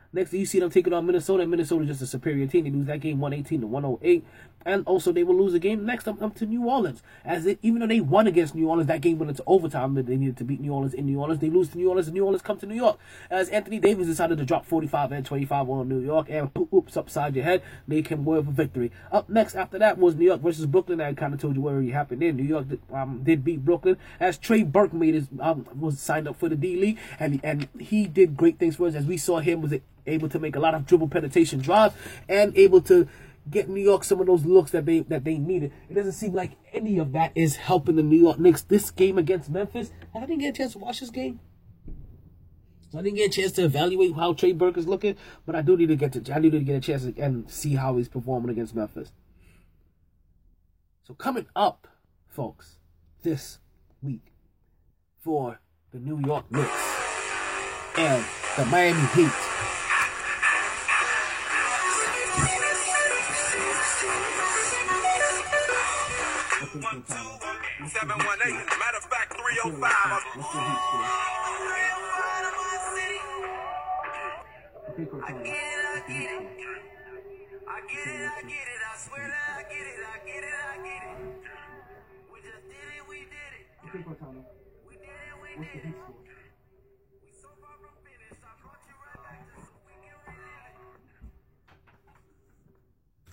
Next, you see them taking on Minnesota. Minnesota is just a superior team. They lose that game one eighteen to one oh eight. And also, they will lose a game next up, up to New Orleans. As it, even though they won against New Orleans, that game went into overtime. But they needed to beat New Orleans in New Orleans. They lose to New Orleans, and New Orleans come to New York. As Anthony Davis decided to drop forty-five and twenty-five on New York. And oops, upside your head, they can win for victory. Up next after that was New York versus Brooklyn. I kind of told you what already happened there. New York did, um, did beat Brooklyn. As Trey Burke made his, um, was signed up for the D-League. And, and he did great things for us. As we saw him was able to make a lot of dribble penetration drives and able to get New York some of those looks that they that they needed. It doesn't seem like any of that is helping the New York Knicks. This game against Memphis, I didn't get a chance to watch this game, so I didn't get a chance to evaluate how Trey Burke is looking. But I do need to get to I need to get a chance to and see how he's performing against Memphis. So coming up, folks, this week for the New York Knicks and the Miami Heat. One, two, seven, one, eight. Matter of fact, three oh five. I get it, I get it. I get it, I get it. I swear that I get it. I get it, I get it. We just did it, we did it. We did it, we did it. We so far from finish. I brought you right back just so we can relive it.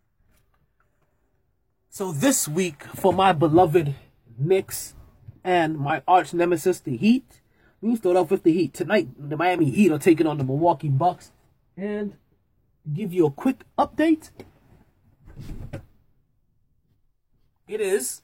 So this week, for my beloved Knicks and my arch nemesis, the Heat, we start off with the Heat. Tonight, the Miami Heat are taking on the Milwaukee Bucks. And give you a quick update. It is.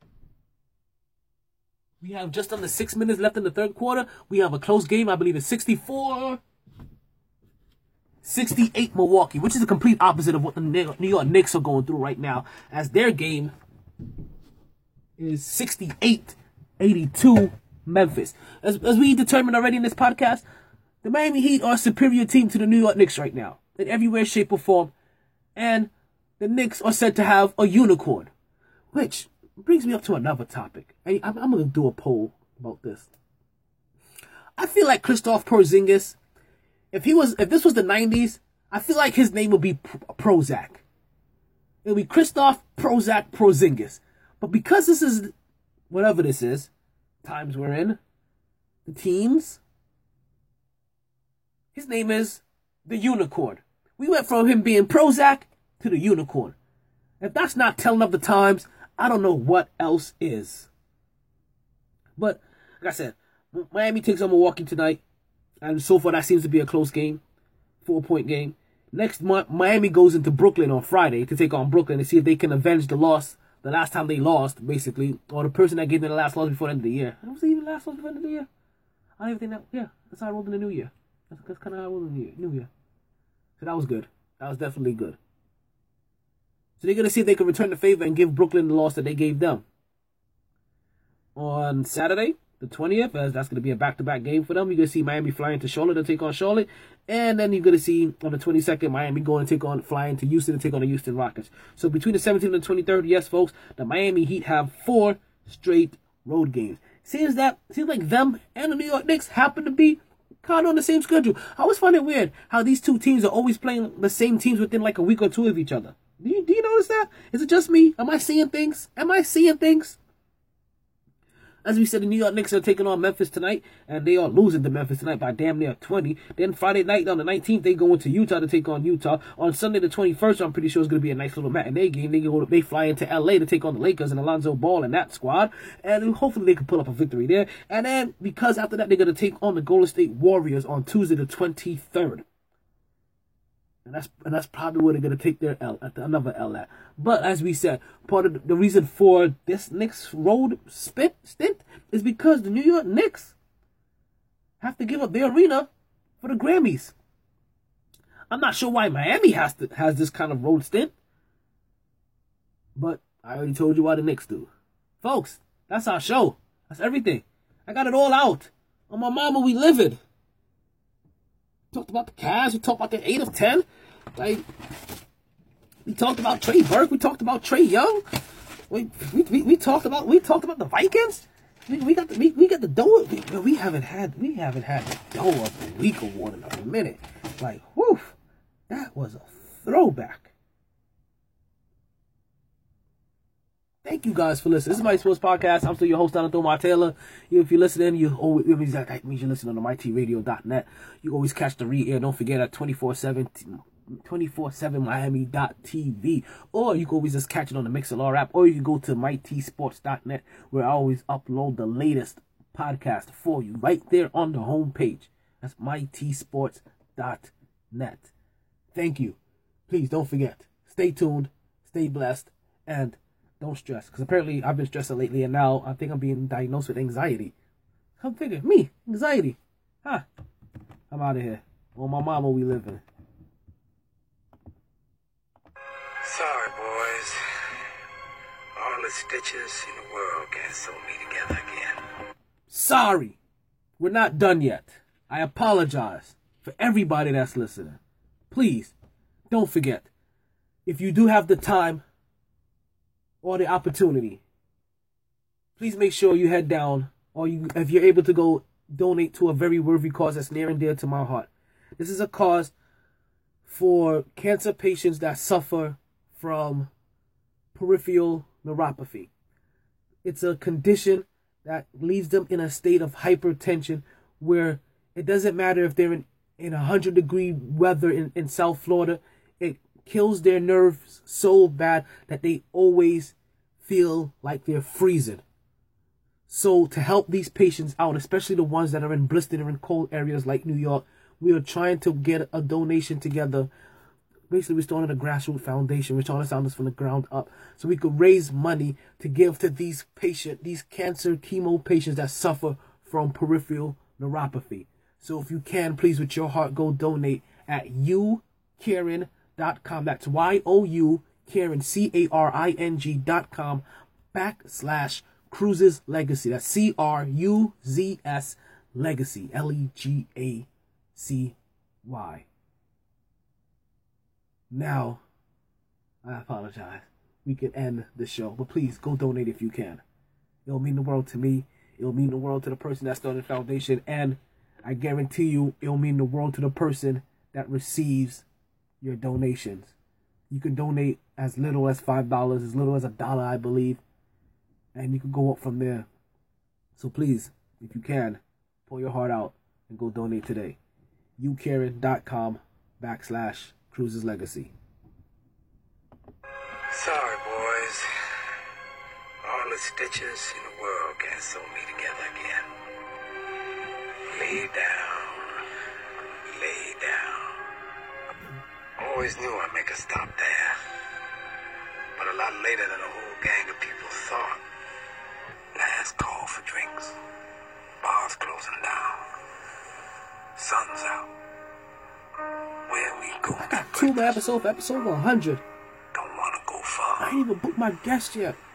We have just under six minutes left in the third quarter. We have a close game. I believe it's sixty-four sixty-eight Milwaukee, which is the complete opposite of what the New York Knicks are going through right now, as their game is sixty-eight eighty-two Memphis. As, as we determined already in this podcast, the Miami Heat are a superior team to the New York Knicks right now, in every way, shape, or form. And the Knicks are said to have a unicorn, which brings me up to another topic. I, I'm, I'm going to do a poll about this. I feel like Kristaps Porzingis, If he was, if this was the nineties, I feel like his name would be Prozac. It would be Kristaps Prozac Porzingis. But because this is, whatever this is, times we're in, the teams, his name is the Unicorn. We went from him being Prozac to the Unicorn. If that's not telling of the times, I don't know what else is. But, like I said, Miami takes on Milwaukee tonight. And so far, that seems to be a close game. Four-point game. Next month, Miami goes into Brooklyn on Friday to take on Brooklyn and see if they can avenge the loss. The last time they lost, basically. Or the person that gave them the last loss before the end of the year. Was it even the last loss before the end of the year? I don't even think that... Yeah, that's how I rolled in the new year. That's, that's kind of how I rolled in the year, new year. So that was good. That was definitely good. So they're going to see if they can return the favor and give Brooklyn the loss that they gave them. On Saturday, the twentieth, as that's going to be a back-to-back game for them. You're going to see Miami flying to Charlotte to take on Charlotte. And then you're going to see on the twenty-second, Miami going to take on, flying to Houston to take on the Houston Rockets. So between the seventeenth and the twenty-third, yes, folks, the Miami Heat have four straight road games. Seems that, seems like them and the New York Knicks happen to be kind of on the same schedule. I always find it weird how these two teams are always playing the same teams within like a week or two of each other. Do you, do you notice that? Is it just me? Am I seeing things? Am I seeing things? As we said, the New York Knicks are taking on Memphis tonight, and they are losing to Memphis tonight by damn near twenty. Then Friday night on the nineteenth, they go into Utah to take on Utah. On Sunday the twenty-first, I'm pretty sure it's going to be a nice little matinee game. They go, they fly into L A to take on the Lakers and Alonzo Ball and that squad, and hopefully they can pull up a victory there. And then, because after that, they're going to take on the Golden State Warriors on Tuesday the twenty-third. And that's and that's probably where they're going to take their L, at the, another L at. But as we said, part of the, the reason for this Knicks road spit, stint is because the New York Knicks have to give up their arena for the Grammys. I'm not sure why Miami has to has this kind of road stint. But I already told you why the Knicks do. Folks, that's our show. That's everything. I got it all out. On my mama, we live it. Talked about the Cavs. We talked about the eight of ten. Like, we talked about Trey Burke. We talked about Trey Young. We we, we, we talked about we talked about the Vikings. We, we got the we, we got the dough. We, we haven't had we haven't had the dough of the week award in a minute. Like, whew, that was a throwback. Thank you guys for listening. This is My Sports Podcast. I'm still your host, Donald Thomar Taylor. If you're listening, you always, that means you're listening on my t radio dot net. You always catch the re-air. Don't forget at twenty-four seven Miami dot T V. Or you can always just catch it on the MixLR app. Or you can go to my t sports dot net, where I always upload the latest podcast for you right there on the homepage. That's my t sports dot net. Thank you. Please don't forget. Stay tuned. Stay blessed. And don't stress, because apparently I've been stressing lately, and now I think I'm being diagnosed with anxiety. Come figure, me, anxiety. Huh. I'm out of here. On my mama we living. Sorry, boys. All the stitches in the world can't sew me together again. Sorry. We're not done yet. I apologize for everybody that's listening. Please, don't forget, if you do have the time or the opportunity, please make sure you head down, or you, if you're able to go, donate to a very worthy cause that's near and dear to my heart. This is a cause for cancer patients that suffer from peripheral neuropathy. It's a condition that leaves them in a state of hypertension where it doesn't matter if they're in, in one hundred degree weather in, in South Florida. It kills their nerves so bad that they always feel like they're freezing. So to help these patients out, especially the ones that are in blistered or in cold areas like New York, we are trying to get a donation together. Basically, we're starting a grassroots foundation. We're trying to sound this from the ground up so we could raise money to give to these patients, these cancer chemo patients that suffer from peripheral neuropathy. So if you can, please, with your heart, go donate at you caring dot com. That's Y O U Caring, C A R I N G dot com backslash Cruises Legacy. That's C R U Z S Legacy. L E G A C Y. Now, I apologize. We can end the show, but please go donate if you can. It'll mean the world to me. It'll mean the world to the person that started the foundation, and I guarantee you it'll mean the world to the person that receives your donations. You can donate as little as five dollars, as little as a dollar, I believe, and you can go up from there. So please, if you can, pull your heart out and go donate today. you caring dot com backslash Cruises Legacy. Sorry, boys. All the stitches in the world can't sew me together again. Lay down. Lay down. Always knew I'd make a stop there. But a lot later than a whole gang of people thought. Last call for drinks. Bars closing down. Sun's out. Where we go? I got two more episodes for episode one hundred. Don't want to go far. I ain't even booked my guest yet.